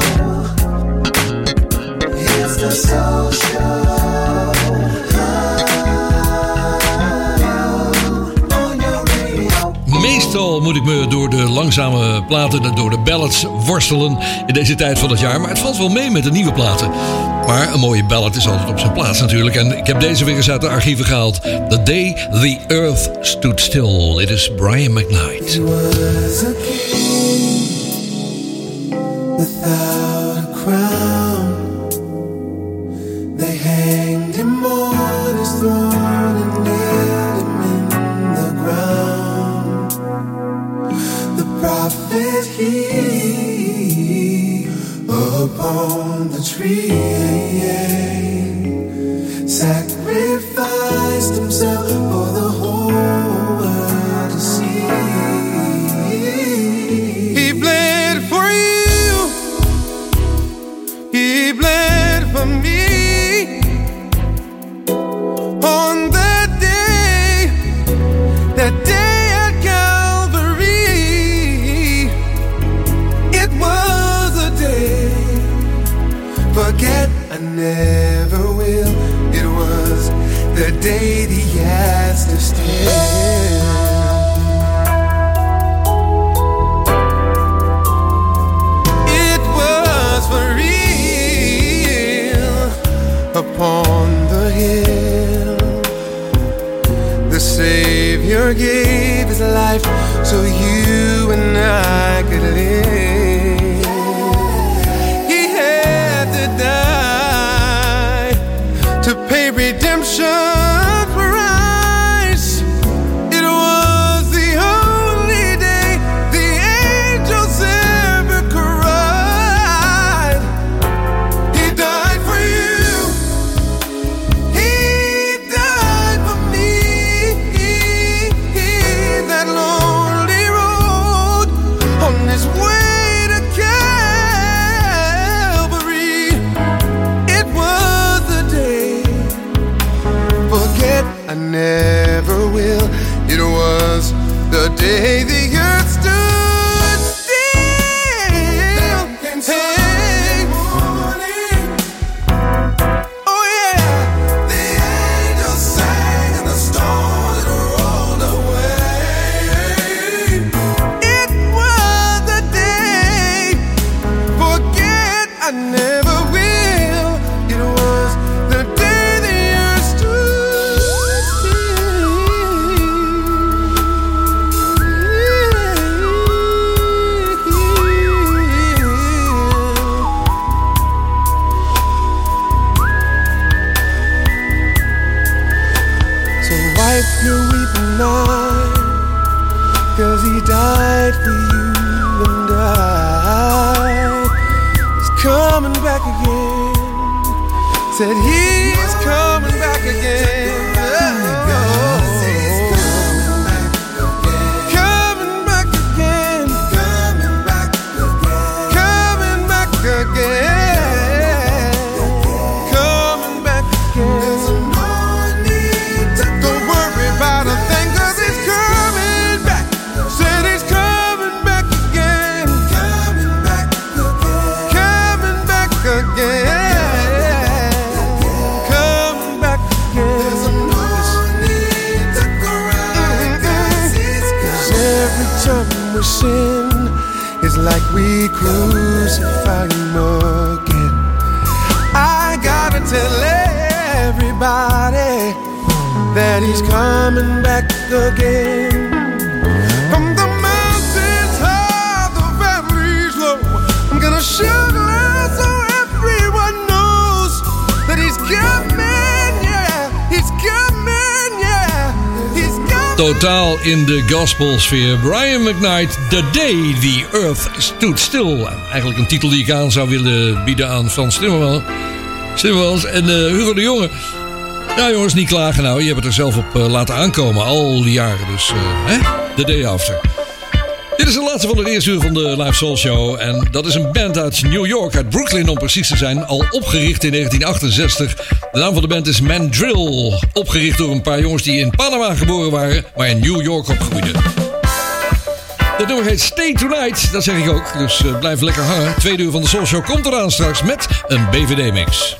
It's the Soul Show. Meestal moet ik me door de langzame platen, door de ballads worstelen in deze tijd van het jaar. Maar het valt wel mee met de nieuwe platen. Maar een mooie ballad is altijd op zijn plaats natuurlijk. En ik heb deze weer eens uit de archieven gehaald. The Day the Earth Stood Still. It is Brian McKnight. He was a king without a crown. They hanged him on his throne and nailed him in the ground. The prophet he upon the tree sacrificed himself for the whole world to see. He bled for you, he bled for me on that day, that day at Calvary. It was a day, forget I never will. It was the day the ass to stand. It was for real upon the hill. The Savior gave his life so you and I could live. He had to die to pay redemption price. It was the only day the angels ever cried. He died for you, he died for me. That lonely road on his way to Calvary. It was the day, forget I never will. It was the day the earth stood still. Hey, oh yeah, the angels sang and the storm it rolled away. It was the day, forget I never will. It was the day the earth stood still. So wipe your weeping eye, 'cause he died for you and I. He's coming back again. Said he's coming back again. Oh, coming back again. Coming back again. Coming back again. Coming back again. Don't worry about a thing, 'cause he's coming back. Said he's coming back again. Coming back again. Coming back again. Coming back again. There's no need to cry, 'cause he's coming. 'Cause every time we sin, it's like we crucify him again. I gotta tell everybody that he's coming back again. From the mountains high, the valleys low, I'm gonna shout loud so everyone knows that he's coming, yeah, he's coming, yeah, he's coming. Totaal in de gospelsfeer. Brian McKnight, The Day the Earth Stood Still. Eigenlijk een titel die ik aan zou willen bieden aan Frans Timmermans. Timmermans en uh, Hugo de Jonge. Ja jongens, niet klagen nou. Je hebt het er zelf op uh, laten aankomen al die jaren. Dus uh, hè? The Day After. Dit is de laatste van het eerste uur van de Live Soul Show. En dat is een band uit New York, uit Brooklyn om precies te zijn. Al opgericht in negentien achtenzestig. De naam van de band is Mandrill. Opgericht door een paar jongens die in Panama geboren waren, maar in New York opgroeiden. Het nummer heet Stay Tonight, dat zeg ik ook. Dus uh, blijf lekker hangen. Tweede uur van de Soul Show komt eraan straks met een B V D-mix.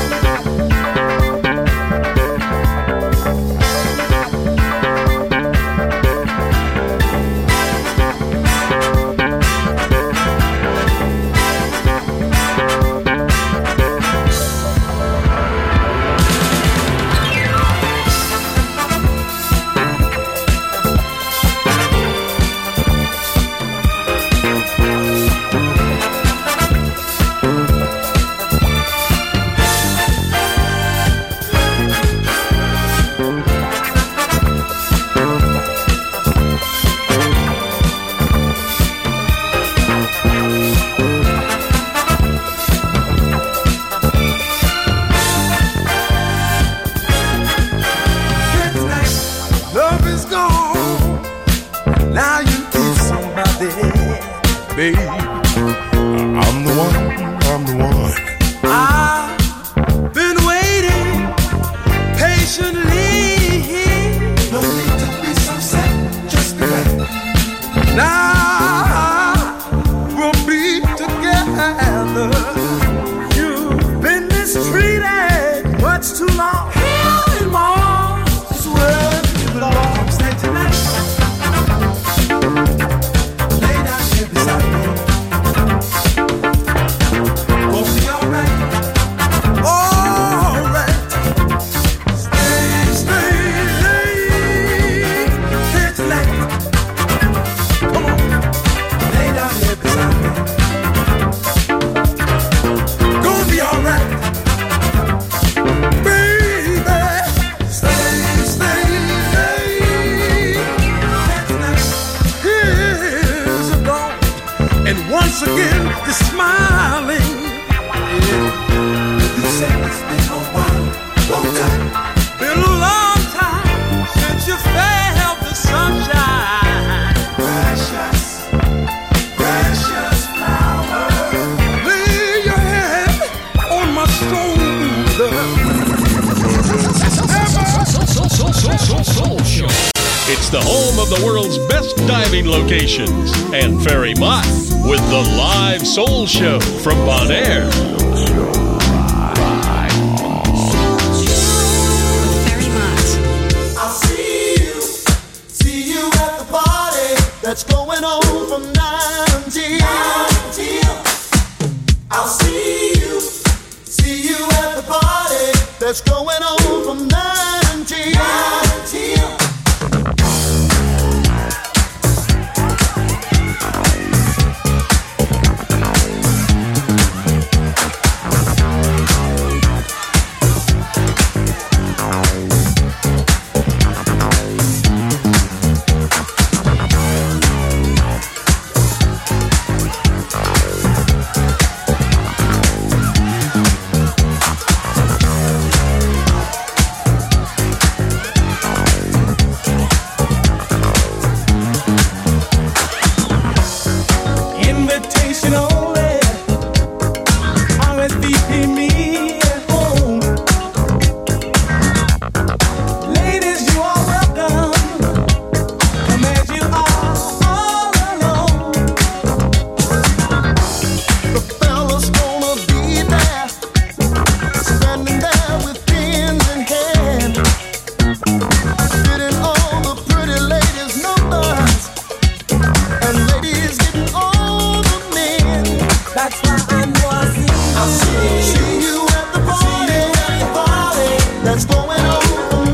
It's the home of the world's best diving locations. And Ferry Mott with the Live Soul Show from Bonaire. That's going on from nine till I'll see you, see you at the party. That's going on from nine till That's going on.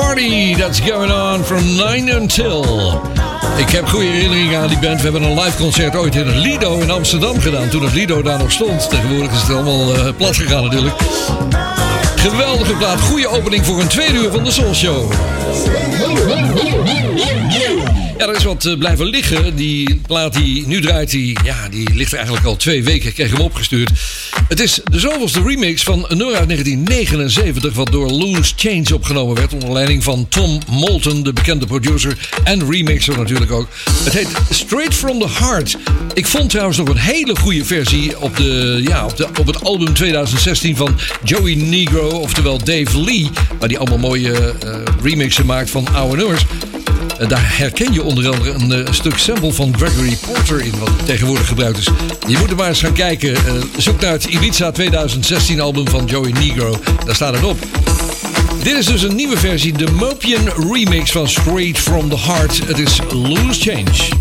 party that's going on from nine until. Ik heb goede herinneringen aan die band. We hebben een live concert ooit in het Lido in Amsterdam gedaan. Toen het Lido daar nog stond. Tegenwoordig is het allemaal uh, plat gegaan natuurlijk. Geweldige plaat. Goede opening voor een tweede uur van de Soul Show. Ja, er is wat uh, blijven liggen. Die plaat die nu draait, die, ja, die ligt er eigenlijk al twee weken. Ik kreeg hem opgestuurd. Het is de zoveelste remix van een nummer uit negentien negenenzeventig... wat door Loose Change opgenomen werd... onder leiding van Tom Moulton, de bekende producer en remixer natuurlijk ook. Het heet Straight From The Heart. Ik vond trouwens nog een hele goede versie op, de, ja, op, de, op het album twintig zestien van Joey Negro, oftewel Dave Lee, waar die allemaal mooie uh, remixen maakt van oude nummers. Uh, daar herken je onder andere een uh, stuk sample van Gregory Porter in, wat tegenwoordig gebruikt is. Je moet er maar eens gaan kijken. Uh, zoek naar het Ibiza twintig zestien album van Joey Negro. Daar staat het op. Dit is dus een nieuwe versie, de Mopian remix van Straight From The Heart. Het is Loose Change.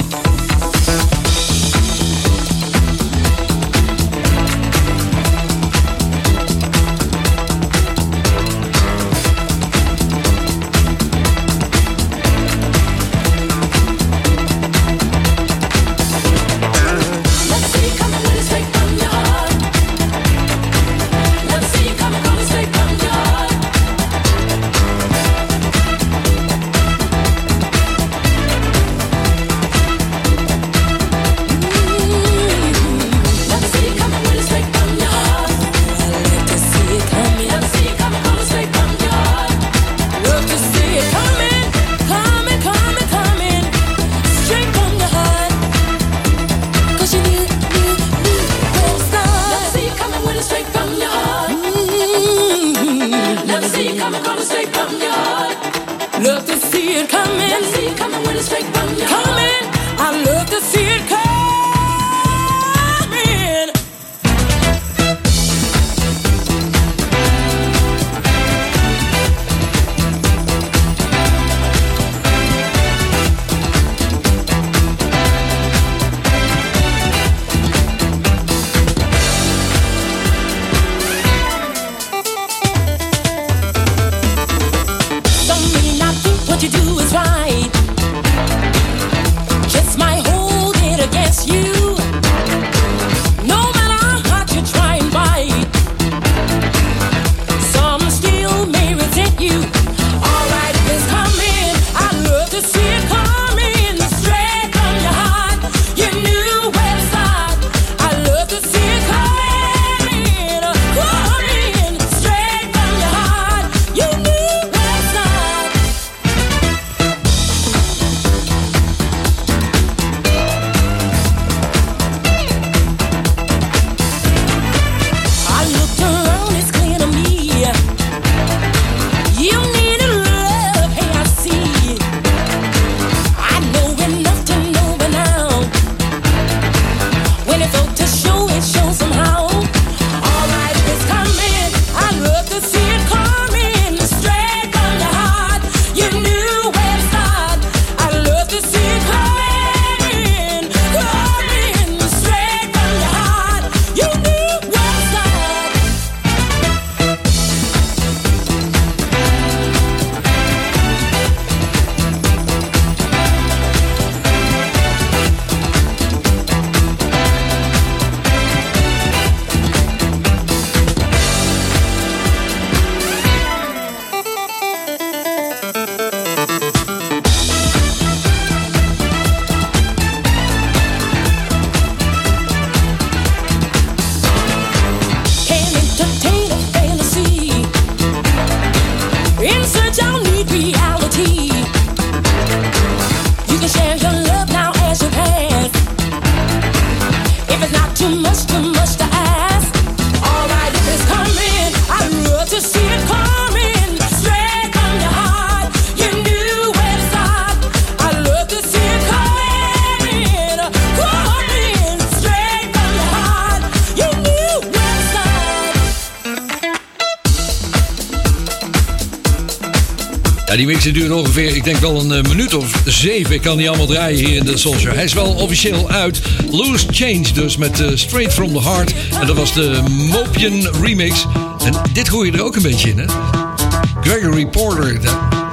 Ja, die mixen duren ongeveer, ik denk wel een uh, minuut of zeven. Ik kan die allemaal draaien hier in de Soul Show. Hij is wel officieel uit. Loose Change dus met uh, Straight From The Heart. En dat was de Mopian remix. En dit hoor je er ook een beetje in, hè? Gregory Porter.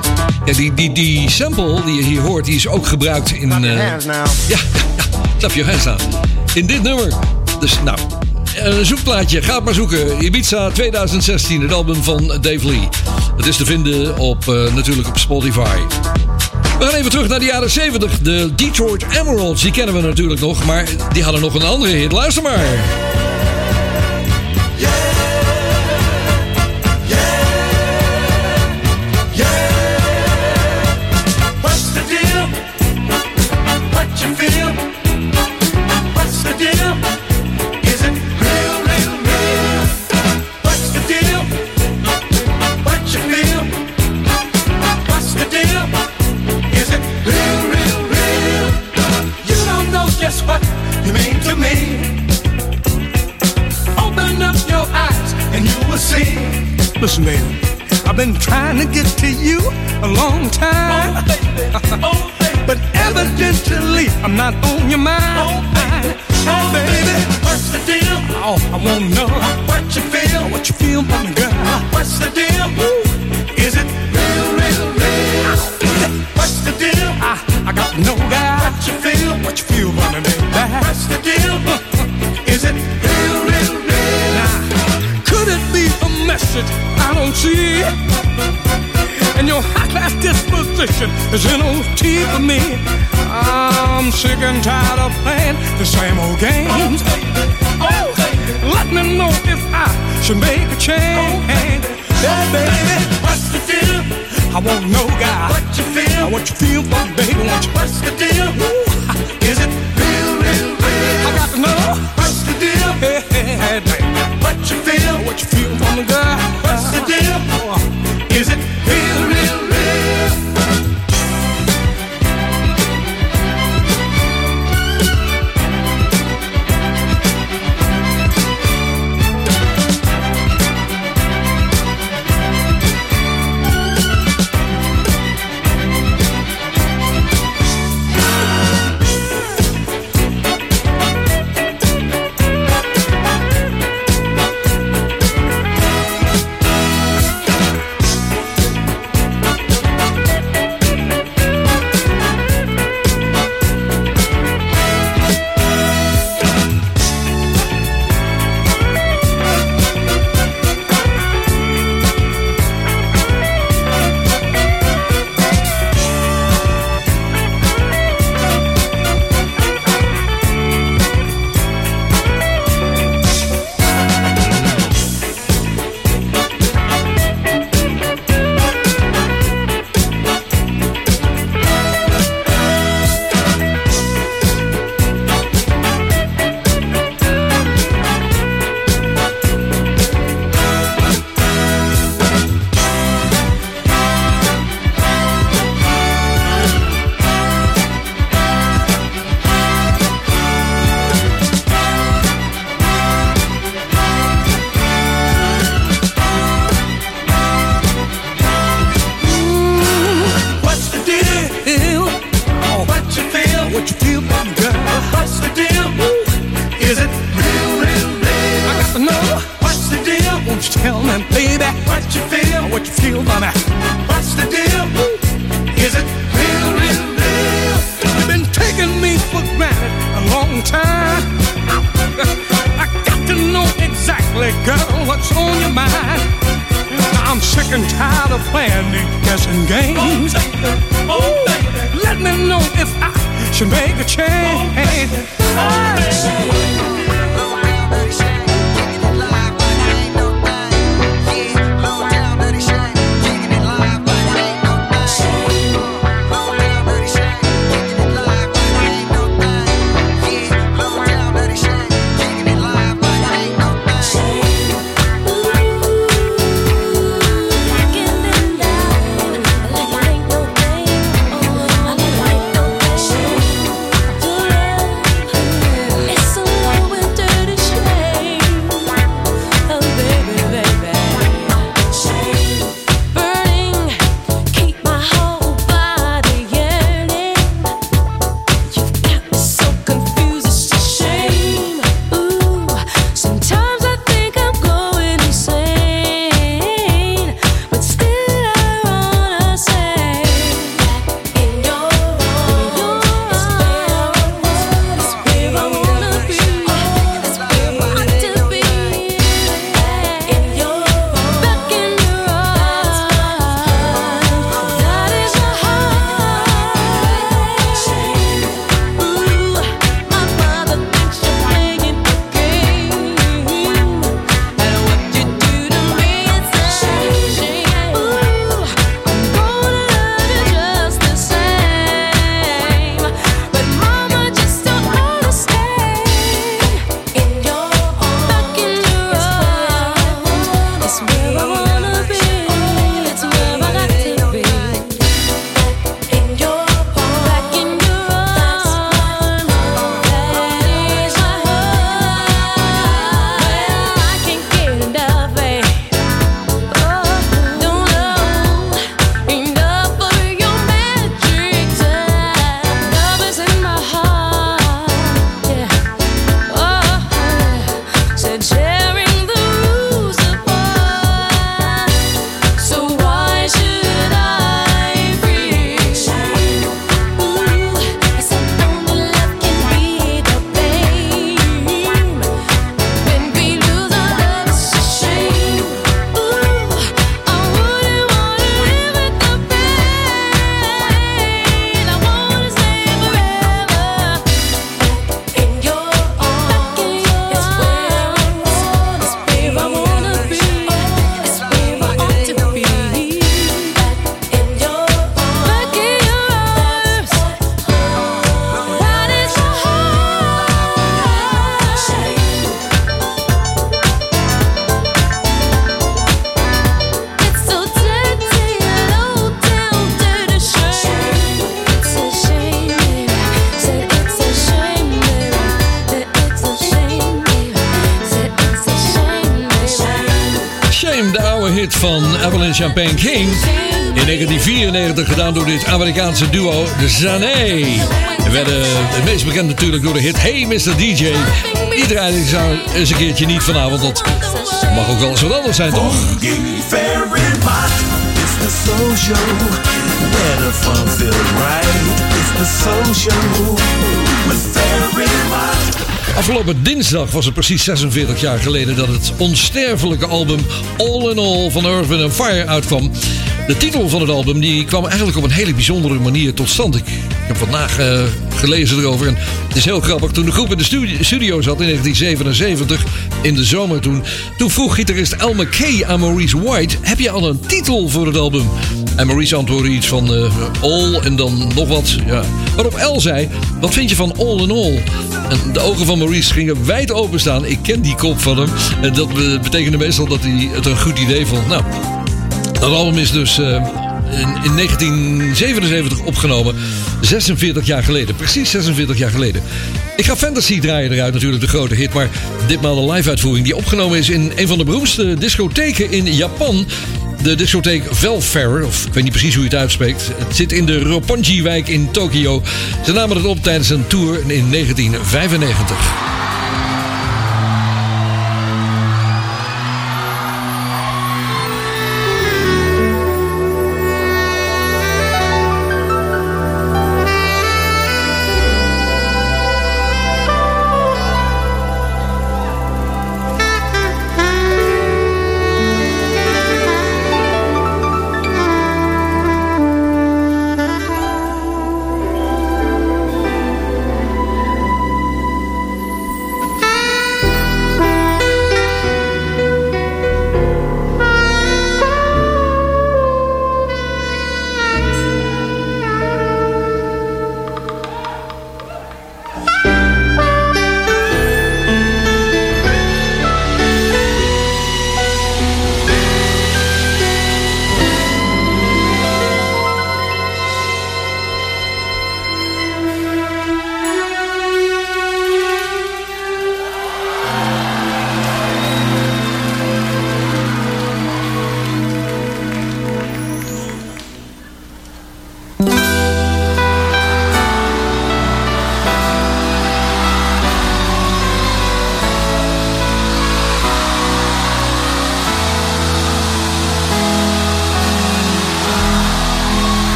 Ja, die, die, die sample die je hier hoort, die is ook gebruikt in... Uh, ja, ja, ja, Clap Your Hands Now. In dit nummer. Dus nou, een zoekplaatje. Ga het maar zoeken. Ibiza twintig zestien, het album van Dave Lee. Het is te vinden op, uh, natuurlijk op Spotify. We gaan even terug naar de jaren zeventig. De Detroit Emeralds, die kennen we natuurlijk nog. Maar die hadden nog een andere hit. Luister maar. Listen, baby, I've been trying to get to you a long time. Oh, baby. Oh, baby. But evidently, I'm not on your mind. Oh, baby. Oh, baby. What's the deal? Oh, I want to know what you feel. What you feel, mommy girl. What's the deal? Ooh. Is it real, real, real? What's the deal? I, I got to know, guy. What you feel? What you feel, mommy, baby. What's the deal? Is it real, real, real? Now, could it be a message I don't see? And your high-class disposition is N O T for me. I'm sick and tired of playing the same old games. Oh, let me know if I should make a change. Yeah, baby, what's the deal? I want to know, guy, what you feel. What you feel for me, baby, won't you? What's the deal? Ooh, is it real, real, real? I got to know. What's the deal? Hey, hey, hey, baby. What you feel? What you feel for me, girl? What's the deal? Is it real, real, real? It's so hit van Evelyn Champagne King. In negentien vierennegentig gedaan door dit Amerikaanse duo, de Zane. We werden het meest bekend natuurlijk door de hit Hey mister D J. Die draaide ik zo eens een keertje niet vanavond. Dat mag ook wel eens wat anders zijn, toch? It's the soul show, where the fun feels right. It's the soul show with Ferry Mott. Afgelopen dinsdag was het precies zesenveertig jaar geleden dat het onsterfelijke album All in All van Earth, Wind and Fire uitkwam. De titel van het album die kwam eigenlijk op een hele bijzondere manier tot stand. Ik heb vandaag uh, gelezen erover en het is heel grappig. Toen de groep in de studio, studio zat in negentien zevenenzeventig, in de zomer toen, toen vroeg gitarist Al McKay aan Maurice White: heb je al een titel voor het album? En Maurice antwoordde iets van uh, All en dan nog wat. Ja. Waarop Al zei: wat vind je van All in All? En de ogen van Maurice gingen wijd openstaan. Ik ken die kop van hem. En dat betekende meestal dat hij het een goed idee vond. Nou, dat album is dus uh, in, in negentien zevenenzeventig opgenomen. zesenveertig jaar geleden. Precies zesenveertig jaar geleden. Ik ga Fantasy draaien eruit, natuurlijk de grote hit. Maar ditmaal de live uitvoering die opgenomen is in een van de beroemdste discotheken in Japan. De discotheek Velfair, of ik weet niet precies hoe je het uitspreekt. Het zit in de Roppongi-wijk in Tokio. Ze namen het op tijdens een tour in negentien vijfennegentig.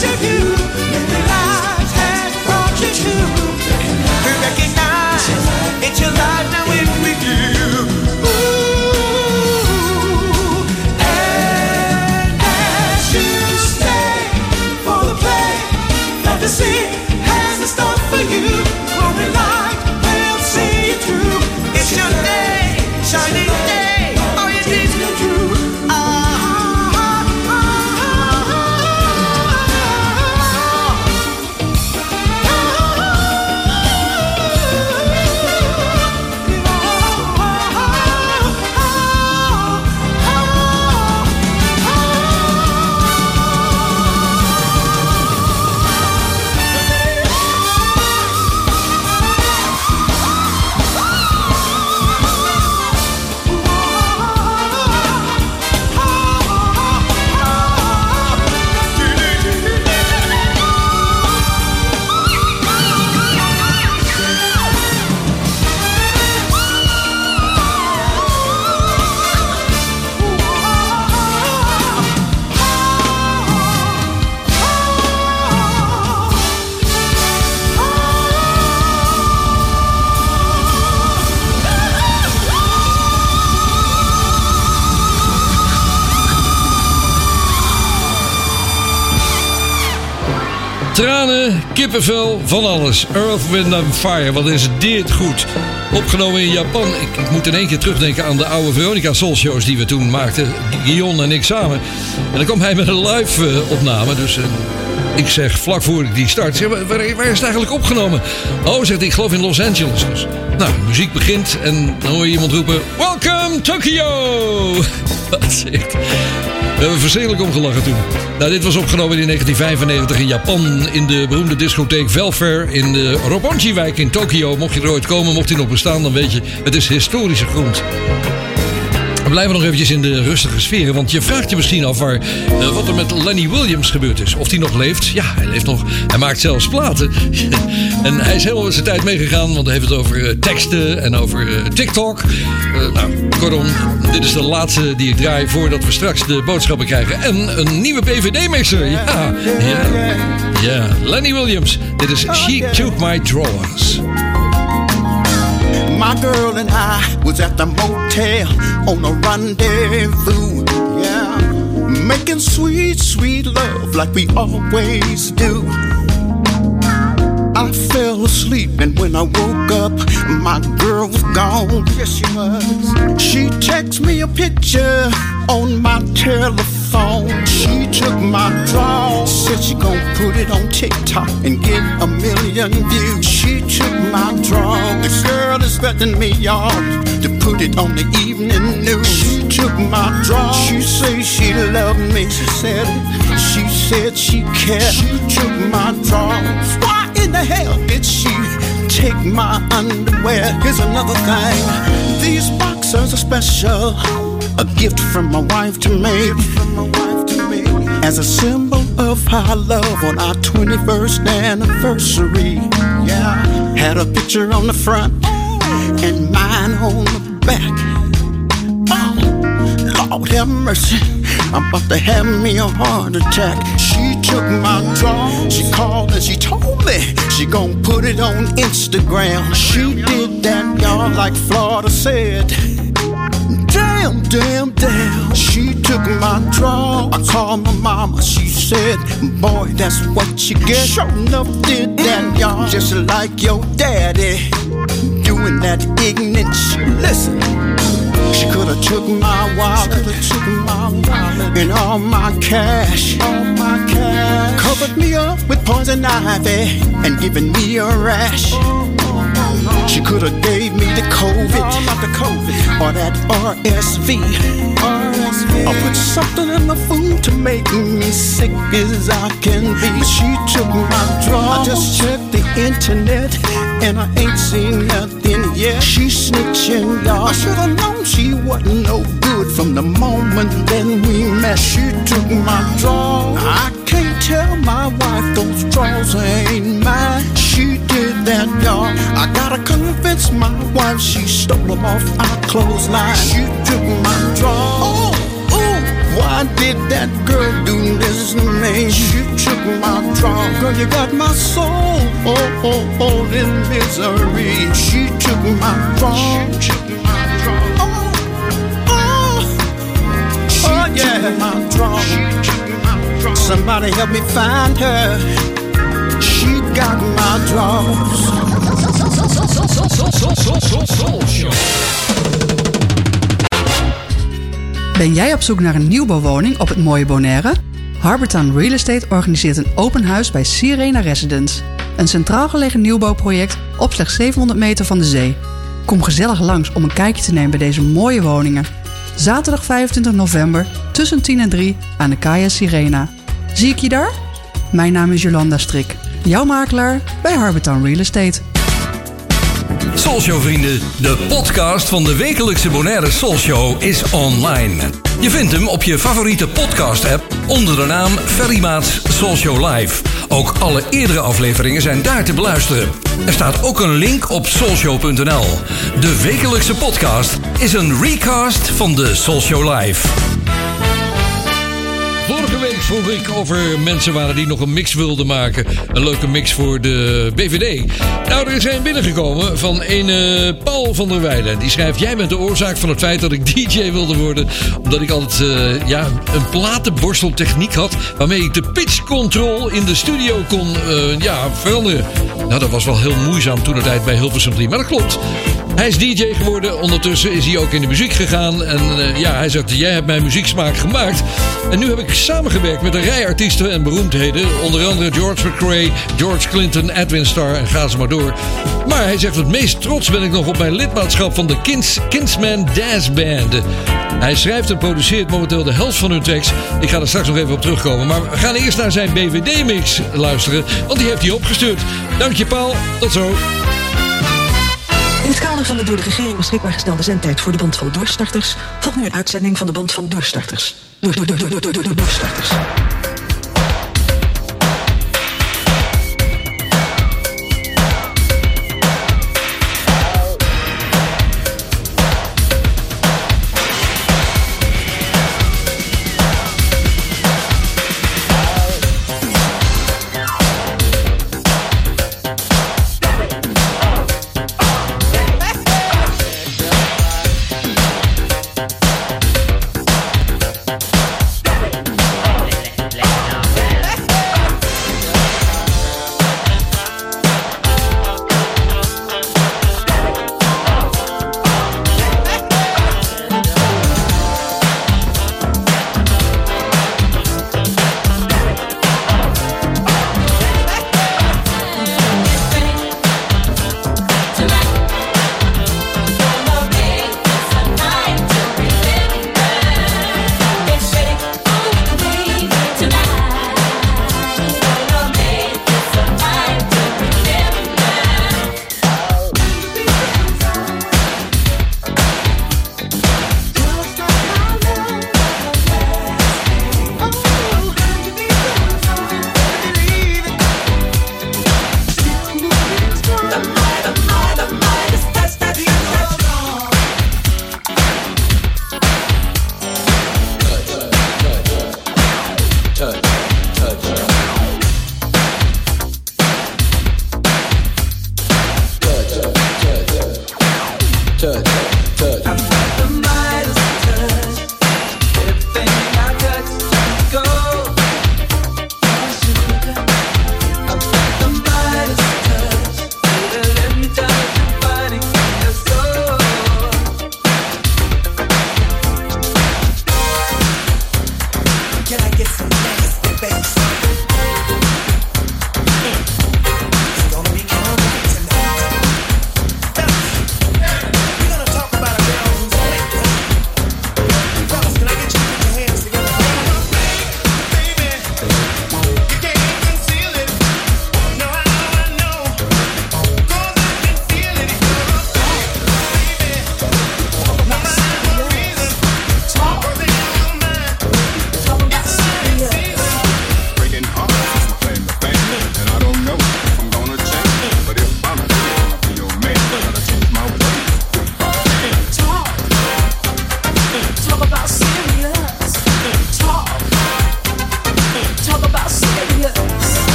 special you. Many lives has brought you to. We recognize it's your life now in with you. Ooh, and as you stay for the play, fantasy has a start for you. Glory light will see you through. It's your day, shining day. All your dreams come true. Ah, ah, ah, Tranen, kippenvel, van alles. Earth, Wind and Fire, wat is dit goed. Opgenomen in Japan. Ik, ik moet in één keer terugdenken aan de oude Veronica Soul shows die we toen maakten. Guillaume en ik samen. En dan kwam hij met een live uh, opname. Dus uh, ik zeg vlak voor ik die start. Zeg, waar, waar is het eigenlijk opgenomen? Oh, zegt hij, ik geloof in Los Angeles. Dus, nou, de muziek begint en dan hoor je iemand roepen: Welcome Tokyo! Wat zeg. We hebben verschrikkelijk omgelachen toen. Nou, dit was opgenomen in negentien vijfennegentig in Japan. In de beroemde discotheek Velfair in de Roppongi-wijk in Tokio. Mocht je er ooit komen, mocht hij nog bestaan, dan weet je, het is historische grond. We blijven nog eventjes in de rustige sferen. Want je vraagt je misschien af waar, uh, wat er met Lenny Williams gebeurd is. Of hij nog leeft. Ja, hij leeft nog. Hij maakt zelfs platen. En hij is helemaal met zijn tijd meegegaan. Want hij heeft het over uh, teksten en over uh, TikTok. Uh, nou, kortom, dit is de laatste die ik draai voordat we straks de boodschappen krijgen. En een nieuwe P V D-mixer. Ja, ja, ja. Lenny Williams. Dit is She Took My Drawers. My girl and I was at the motel on a rendezvous, yeah, making sweet, sweet love like we always do. I fell asleep and when I woke up, my girl was gone. Yes, she was. She texted me a picture on my telephone. She took my draw, said she gon' put it on TikTok and get a million views. She took my draw. The girl is expecting me, y'all, to put it on the evening news. She took my draw. She said she loved me. She said it. She said she cared. She took my draws. Why in the hell did she take my underwear? Here's another thing. These boxers are special. A gift from my wife to me. As a symbol of our love on our twenty-first anniversary. Yeah. Had a picture on the front and mine on the back. Oh, Lord have mercy. I'm about to have me a heart attack. She took my draw. She called and she told me she gon' put it on Instagram. She did that, y'all, like Florida said. Damn, damn, damn. She took my draw. I called my mama. She said, boy, that's what you get. Sure enough did that, y'all. Just like your daddy doing that ignorant shit. Listen. She coulda took my wallet, took my wallet, and all my cash, all my cash. Covered me up with poison ivy and given me a rash. She coulda gave me the COVID, not the COVID, or that R S V. Or put something in the food to make me sick as I can be. But she took my draw. I just checked the internet and I ain't seen nothing yet. She snitching, y'all. I shoulda known she wasn't no good from the moment that we met. She took my draw. I can't tell my wife those draws ain't mine. She did that, y'all. I gotta convince my wife she stole them off our clothesline. She took my draw. Oh, ooh, Why did that girl do this to me? She took my draw. Girl, you got my soul oh, oh, oh, in misery. She took my draw. She took my draw. Oh, oh, she oh yeah. Took my draw. She took my draw. Somebody help me find her. She got my draws. Ben jij op zoek naar een nieuwbouwwoning op het mooie Bonaire? Harbortown Real Estate organiseert een open huis bij Sirena Residence. Een centraal gelegen nieuwbouwproject op slechts zevenhonderd meter van de zee. Kom gezellig langs om een kijkje te nemen bij deze mooie woningen. Zaterdag vijfentwintig november tussen tien en drie aan de Kaya Sirena. Zie ik je daar? Mijn naam is Jolanda Strik, jouw makelaar bij Harbortown Real Estate. Soulshow vrienden, de podcast van de wekelijkse Bonaire Soulshow is online. Je vindt hem op je favoriete podcast app onder de naam Ferry Maats Soulshow Live. Ook alle eerdere afleveringen zijn daar te beluisteren. Er staat ook een link op soulshow punt n l. De wekelijkse podcast is een recast van de Soulshow Live. Vorige week vroeg ik of er mensen waren die nog een mix wilden maken. Een leuke mix voor de B V D. Nou, er is een binnengekomen van een uh, Paul van der Weijden. Die schrijft: jij bent de oorzaak van het feit dat ik D J wilde worden. Omdat ik altijd uh, ja, een platenborsteltechniek had. Waarmee ik de pitch control in de studio kon uh, ja, veranderen. Nou, dat was wel heel moeizaam toen de tijd bij Hilversum drie. Maar dat klopt. Hij is D J geworden. Ondertussen is hij ook in de muziek gegaan. En uh, ja, hij zegt: jij hebt mijn muzieksmaak gemaakt. En nu heb ik samengewerkt met een rij artiesten en beroemdheden. Onder andere George McRae, George Clinton, Edwin Starr en ga ze maar door. Maar hij zegt: het meest trots ben ik nog op mijn lidmaatschap van de Kins, Kinsman Jazz Band. Hij schrijft en produceert momenteel de helft van hun tracks. Ik ga er straks nog even op terugkomen. Maar we gaan eerst naar zijn B V D-mix luisteren. Want die heeft hij opgestuurd. Dank je, Paul. Tot zo. In het kader van de door de regering beschikbaar gestelde zendtijd voor de band van doorstarters volgt nu een uitzending van de band van doorstarters. Door, door, door, door, door, door, door, doorstarters.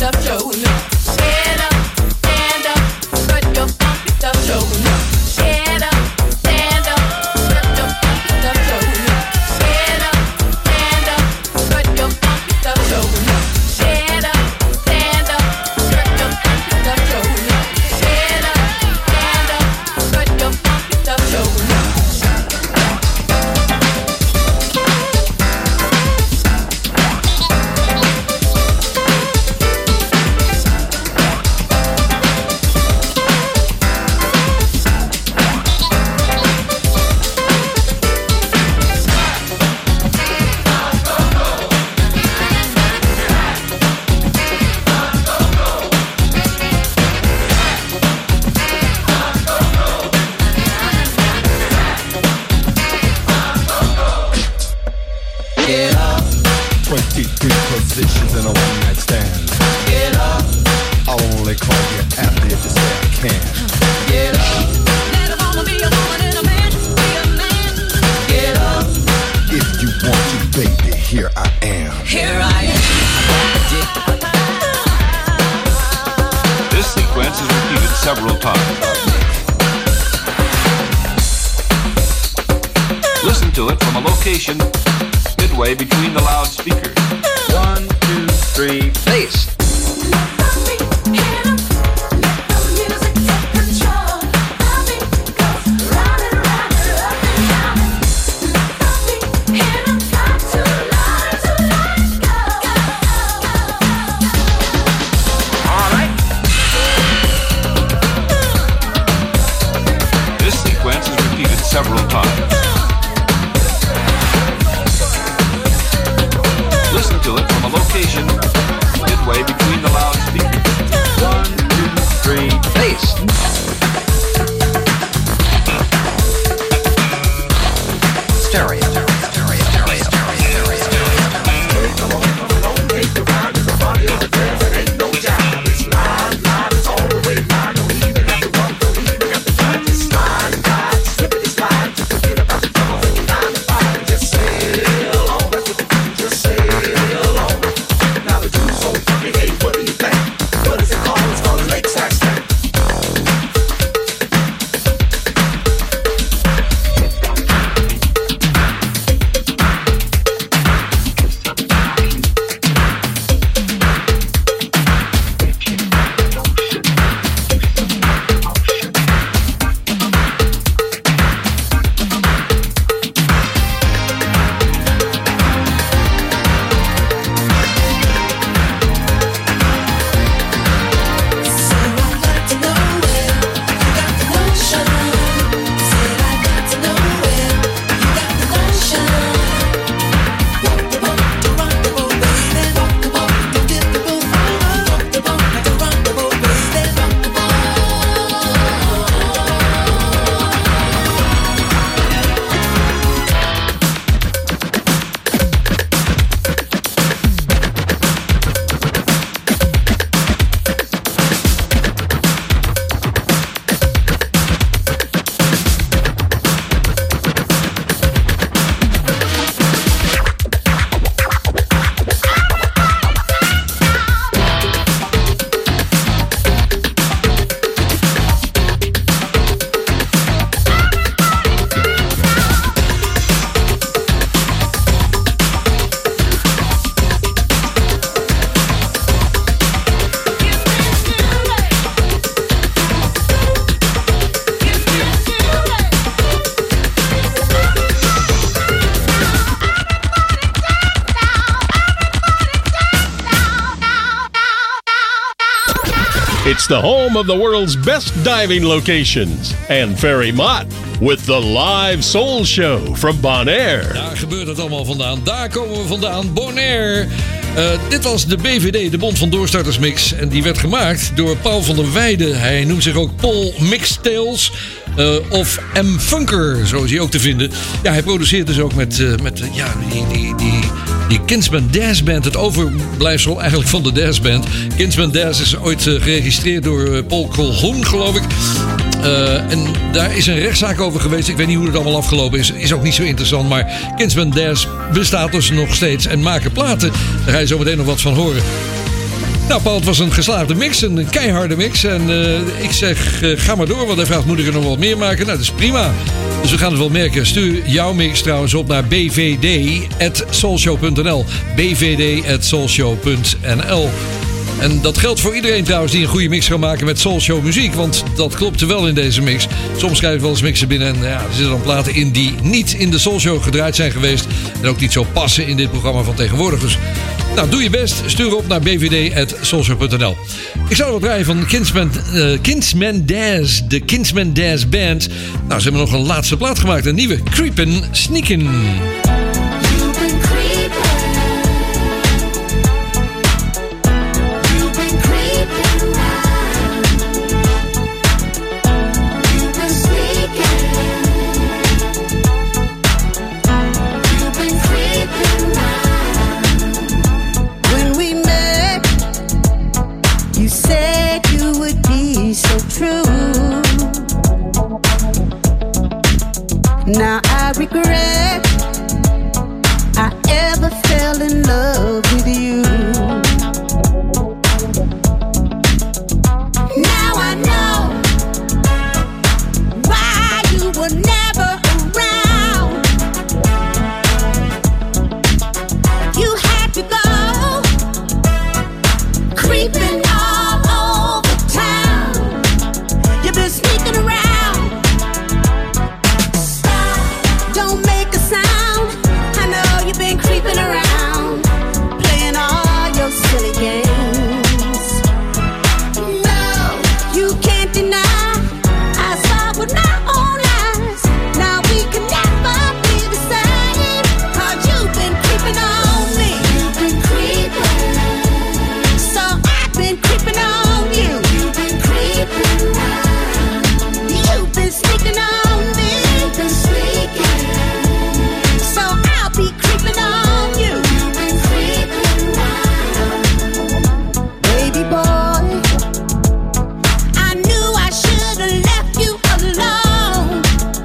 stuff showing. Stand up, stand up, strut your funky stuff showing. Stand up, stand up, strut your funky stuff showing. Stand up, stand up, strut your funky stuff showing. Stand up, stand up, strut your funky stuff showing. Stand up, stand up, strut your funky stuff showing. Get up. twenty-three positions in a one night stand. Get up. I'll only call you after you say I can. Get up. Let a woman be a woman and a man be a man. Get up. If you want to, baby, here I am. Here I am. This sequence is repeated several times. Listen to it from a location midway between the loudspeakers. One, two, three, bass. All right. This sequence is repeated several times. Listen to it from a location midway between the loudspeakers. One, two, three, bass. Stereo. It's the home of the world's best diving locations. And Ferry Mott with the live soul show from Bonaire. Daar gebeurt het allemaal vandaan. Daar komen we vandaan. Bonaire. Uh, dit was de B V D, de Bond van Doorstarters Mix. En die werd gemaakt door Paul van der Weijden. Hij noemt zich ook Paul Mixtails. Uh, of M. Funker, zo is hij ook te vinden. Ja, hij produceert dus ook met, uh, met uh, ja, die, die, die, die Kinsman Dazz Band. Het overblijfsel eigenlijk van de Dazz Band. Kinsman Dazz is ooit uh, geregistreerd door uh, Paul Colhoun, geloof ik. Uh, en daar is een rechtszaak over geweest. Ik weet niet hoe het allemaal afgelopen is. Is ook niet zo interessant. Maar Kinsman Dazz bestaat dus nog steeds en maken platen. Daar ga je zo meteen nog wat van horen. Nou, Paul, het was een geslaagde mix, een keiharde mix. En uh, ik zeg, uh, ga maar door, want hij vraagt, moet ik er nog wat meer maken? Nou, dat is prima. Dus we gaan het wel merken. Stuur jouw mix trouwens op naar b v d at soulshow punt n l. b v d at soulshow punt n l. En dat geldt voor iedereen trouwens die een goede mix kan maken met Soulshow muziek. Want dat klopte wel in deze mix. Soms krijg ik wel eens mixen binnen en ja, er zitten dan platen in die niet in de Soulshow gedraaid zijn geweest. En ook niet zo passen in dit programma van tegenwoordig. Dus nou, doe je best. Stuur op naar b v d at soulshow punt n l. Ik zou wat draaien van Kinsman, uh, Kinsman Daz. De Kinsman Daz Band. Nou, ze hebben nog een laatste plaat gemaakt. Een nieuwe. Creepin' Sneakin'. Now I regret I ever fell in love with you. Now I know why you were never around. You had to go creeping all over town. You've been sneaking around. Creeping around, playing all your silly games. No, you can't deny I saw it with my own eyes. Now we can never be the same. Cause you've been creeping on me. You've been creeping. So I've been creeping on you. You've been creeping. You've been sneaking on me. You've been sneaking. So I'll be creeping on you. Baby boy, I knew I should have left you alone.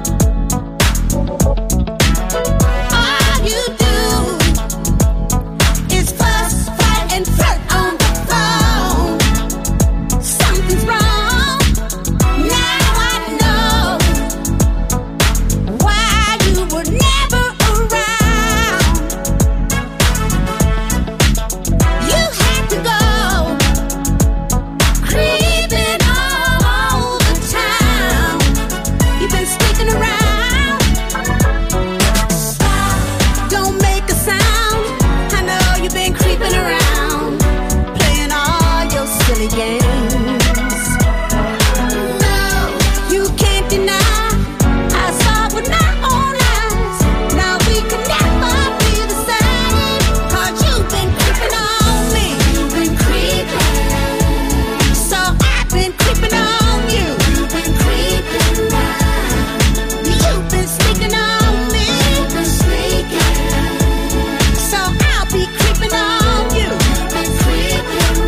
All you do is fuss, fight, and flirt on the phone. Something's wrong. Now I know why you were never around. You had to go creeping all over town. You've been sneaking around. Don't make a sound. I know you've been creeping around, playing all your silly games. No, you can't deny I saw it with my own eyes. Now we can never be the same. Cause you've been creeping on me. You've been creeping. So I've been creeping on you. You've been creeping. You've been sneaking on me. You've been sneaking. So I'll be creeping on you. You've been creeping.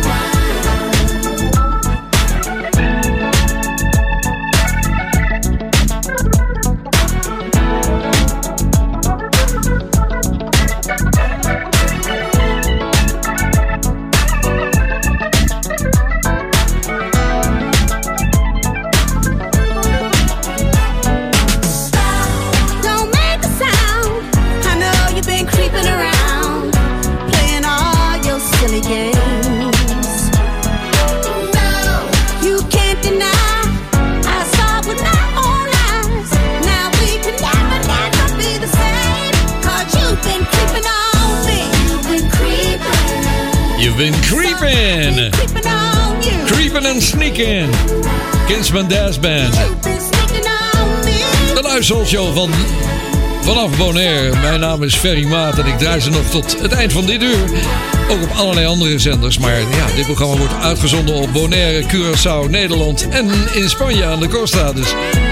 Don't make a sound. I know you've been creeping around, playing all your silly games. No, you can't deny I saw it with my own eyes. Now we can never, never be the same. Cause you've been creeping on me. You've been creeping. You've been creeping. Creeping on you. Creeping and sneaking. Kinsman Daz Band. You've been sneaking on me. De live Soulshow van vanaf Bonaire. Mijn naam is Ferry Maat en ik draai ze nog tot het eind van dit uur. Ook op allerlei andere zenders. Maar ja, dit programma wordt uitgezonden op Bonaire, Curaçao, Nederland en in Spanje aan de Costa. Dus.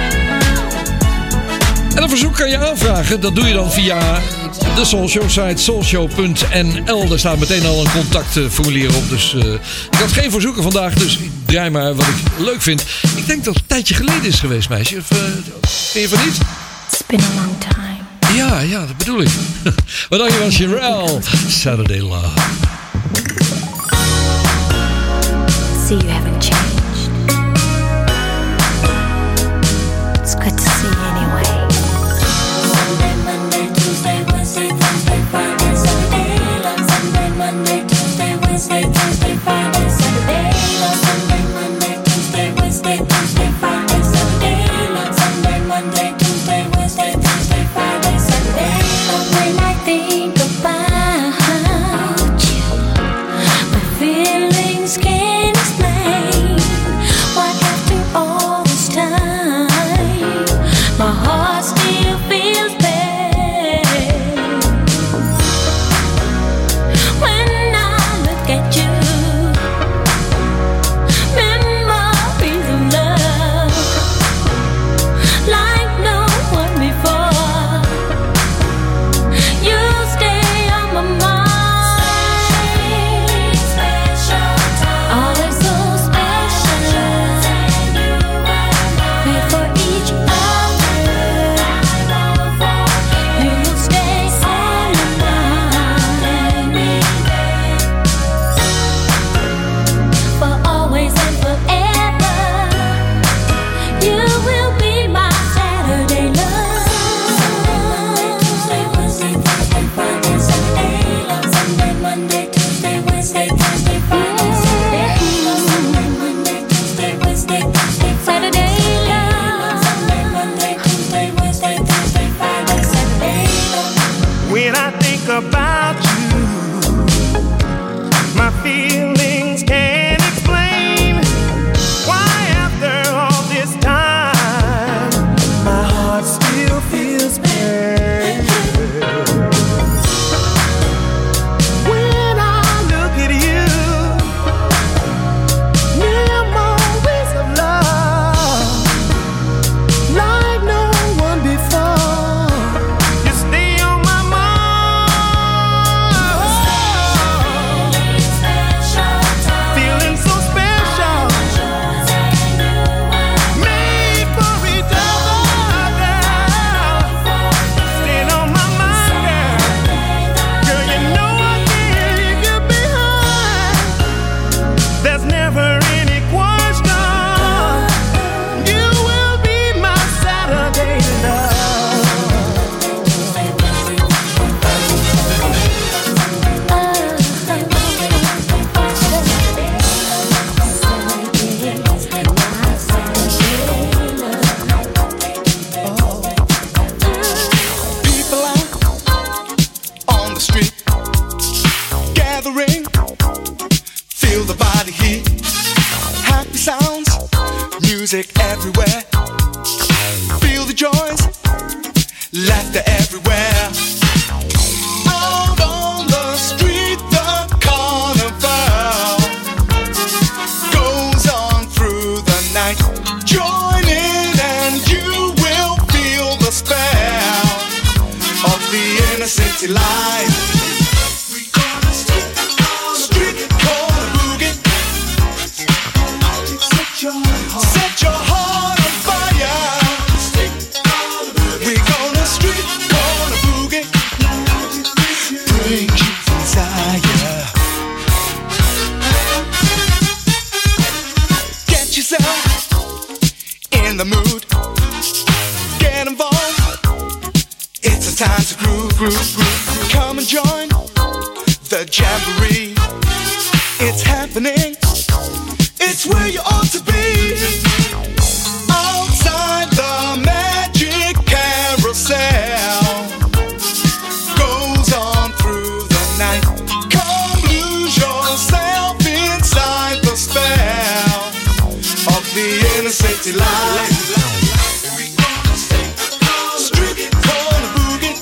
En een verzoek kan je aanvragen. Dat doe je dan via de Soulshow site soulshow punt n l. Daar staat meteen al een contactformulier op. Dus uh, ik had geen verzoeken vandaag, dus ik draai maar wat ik leuk vind. Ik denk dat het een tijdje geleden is geweest, meisje. Of, uh, vind je van niet? It's been a long time. Ja, ja, dat bedoel ik. Wat dacht je van Sherelle? Saturday Love. see you haven't changed. It's good to see you anyway. Sunday, Monday, Tuesday, Wednesday, Thursday, Friday, Saturday. On Sunday, Monday, Tuesday, Wednesday, Thursday, Friday, Saturday. On Sunday, Monday, Tuesday, Wednesday, Thursday, Friday, Saturday. On Sunday, Monday, Tuesday, Wednesday, Thursday, Friday, Saturday. When I think about you, my feelings can't explain what after all this time, my heart still feels pain. When I look at you, memories of love like no one before. You stay on my mind. Always so special. Wait for each other. You will stay on my mind. For always and forever. You will be my Saturday love. Sunday, Monday, Tuesday, Wednesday, Thursday, Friday, Saturday. On Sunday, Monday, Tuesday, Wednesday, Thursday, Friday, Saturday. On Sunday, Monday, Tuesday, Wednesday, Thursday, Saturday. On Sunday, Monday, Tuesday, Wednesday, Thursday, Friday, Saturday. When I think about you, my feelings can't explain why after all this time, my heart still feels pain. When I look at you, memories of love like no one before. You stay on my mind. Feeling so special. Made for each other, girl. Staying on my mind, girl. Girl, you know I can't leave you behind. There's never any question. You will be my Saturday love. People out on the street, gathering, feel the body heat, happy sounds, music everywhere, feel the joys, laughter everywhere. Out on the street, the carnival goes on through the night. Join in and you will feel the spell of the inner city life. Street corner boogie. Set your heart on fire. We're gonna street corner boogie. Bring you desire. Get yourself in the mood. Get involved. It's a time to groove, groove, groove. Come and join the jamboree. It's happening. It's where you ought to be. Outside the magic carousel goes on through the night. Come lose yourself inside the spell of the inner city life. Street corner boogie.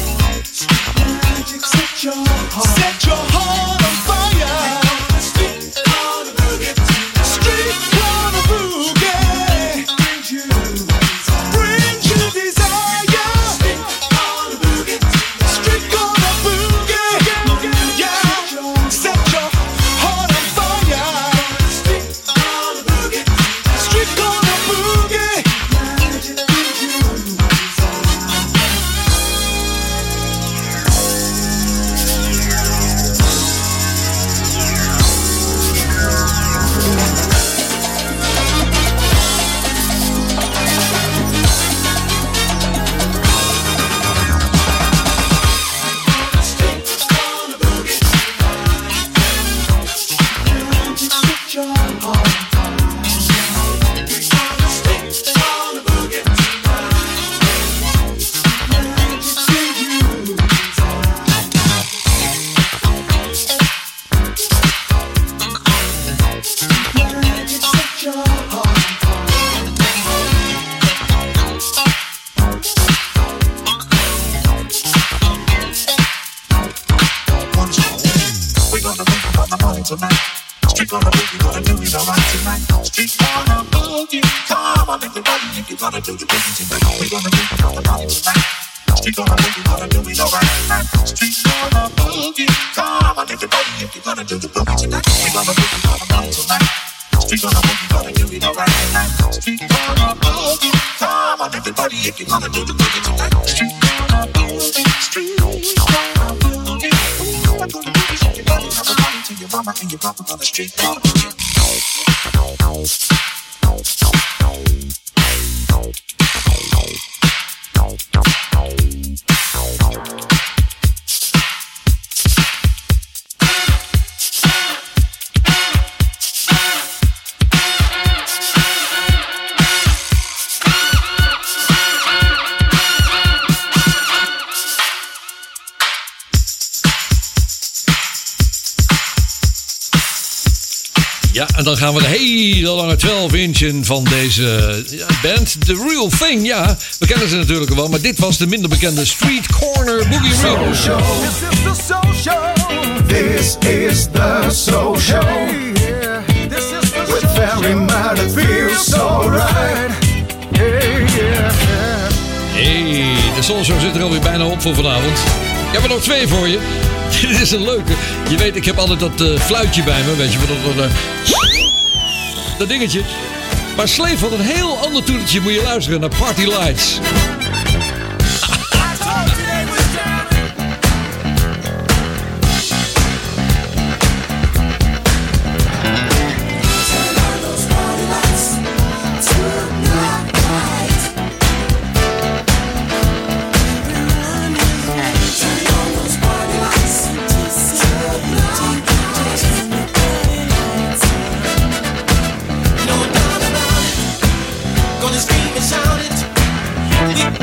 Set your heart, set your heart on fire. Street corner boogie. Street corner boogie. Bring you desire. Street corner boogie. Street corner boogie. Yeah. Set your heart on fire. Street corner boogie. Street corner boogie. Street corner boogie. Come on, everybody, if you're gonna do the boogie tonight, we're gonna do the party tonight. Street corner boogie, gonna do it all right. Street corner boogie. Come on, everybody, if you're gonna do the boogie tonight, we're gonna do the party tonight. Street corner boogie, gonna do it all right. Street corner boogie. Come on, everybody, if you're gonna do the boogie tonight. Street corner boogie. Street corner boogie. Ooh, I'm gonna do this, everybody, have a party to your mama and your papa on the street corner boogie. Ja, en dan gaan we de hele lange twaalf inch in van deze ja, band. The Real Thing, ja. We kennen ze natuurlijk wel, maar dit was de minder bekende Street Corner Boogie Remix. This is the soul show. This is the soul show. Yeah, this is the with very mild, it feels so right. Hey, yeah, hey, de Soul Show zit er alweer bijna op voor vanavond. Ik heb er nog twee voor je. Dit is een leuke. Je weet, ik heb altijd dat uh, fluitje bij me. Weet je, dat, dat, uh, dat dingetje. Maar Slave had een heel ander toetertje. Moet je luisteren naar Party Lights. Gonna scream and shout it. We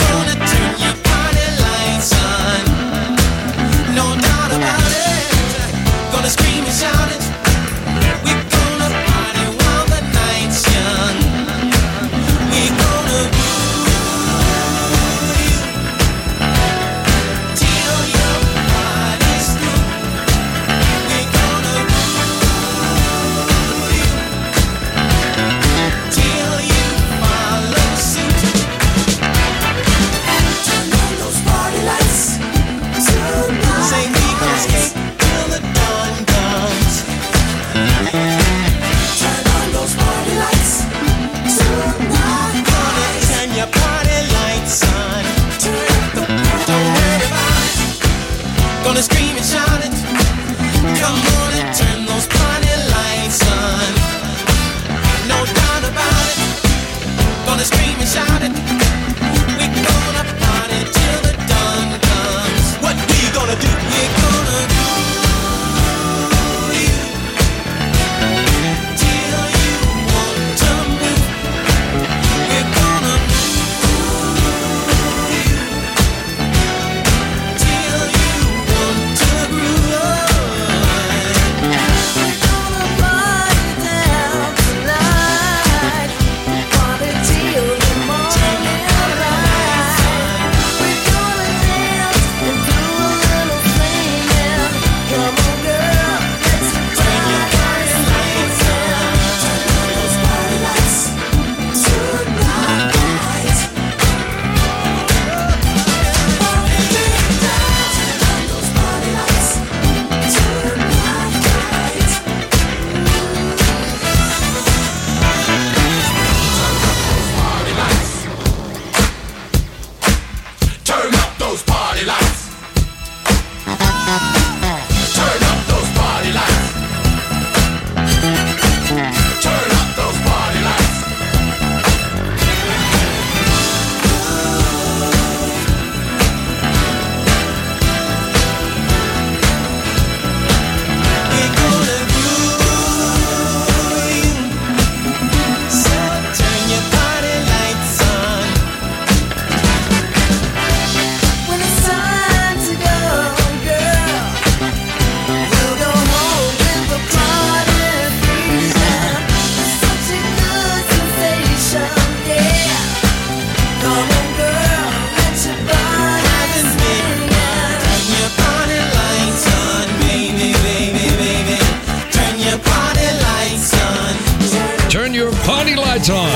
Turn your party lights on.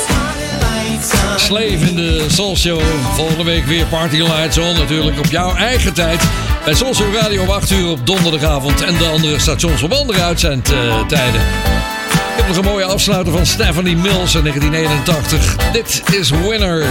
Slave in de Soul Show. Volgende week weer Party Lights On. Natuurlijk op jouw eigen tijd. Bij Soul Show Radio om acht uur op donderdagavond. En de andere stations op andere uitzendtijden. Ik heb nog een mooie afsluiter van Stephanie Mills in negentien eenentachtig. Dit is Winner.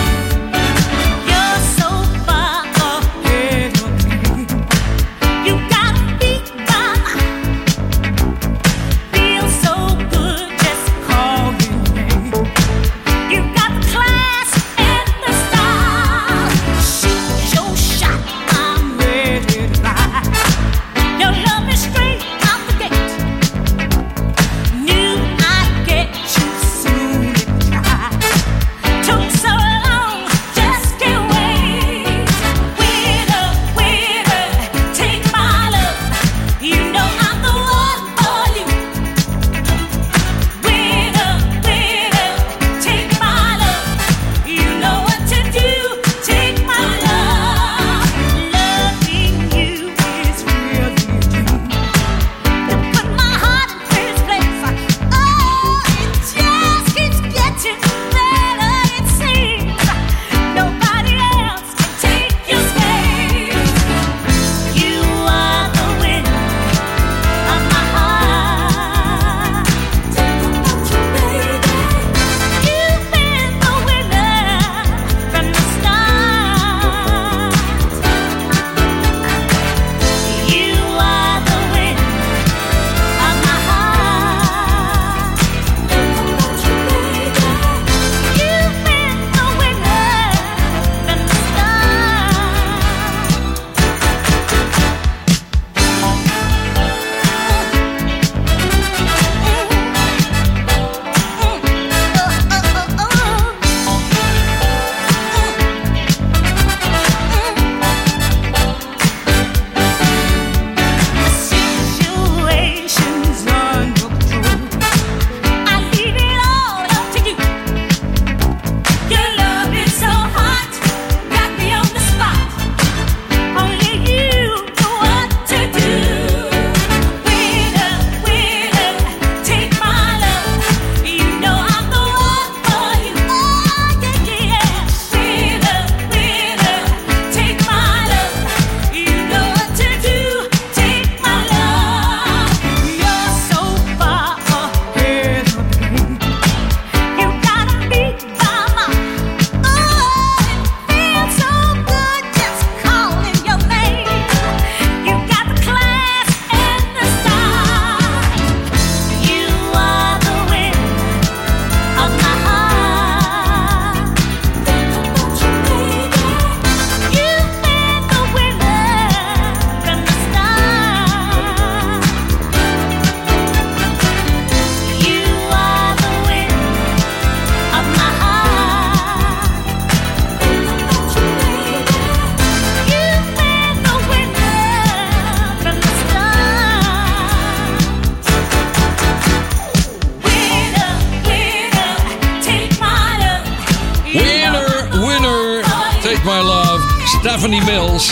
Stephanie Mills.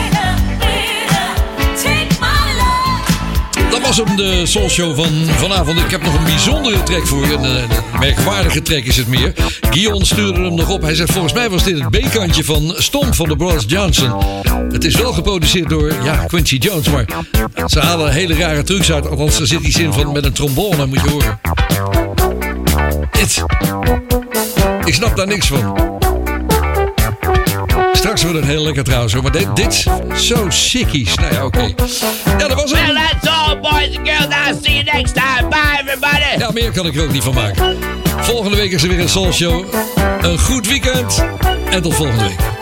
Dat was hem, de Soul Show van vanavond. Ik heb nog een bijzondere track voor je. Een, een merkwaardige track is het meer. Guion stuurde hem nog op. Hij zegt, volgens mij was dit het B-kantje van Stomp van de Brothers Johnson. Het is wel geproduceerd door, ja, Quincy Jones. Maar ze halen hele rare trucs uit. Althans, er zit iets in van met een trombone, moet je horen. Dit. Ik snap daar niks van. Straks wordt het heel lekker trouwens hoor. Maar dit, dit zo sickies. Nou ja, oké. Okay. Ja, dat was het. Well, that's all, boys and girls. I'll see you next time. Bye, everybody. Ja, meer kan ik er ook niet van maken. Volgende week is er weer een Soul Show. Een goed weekend. En tot volgende week.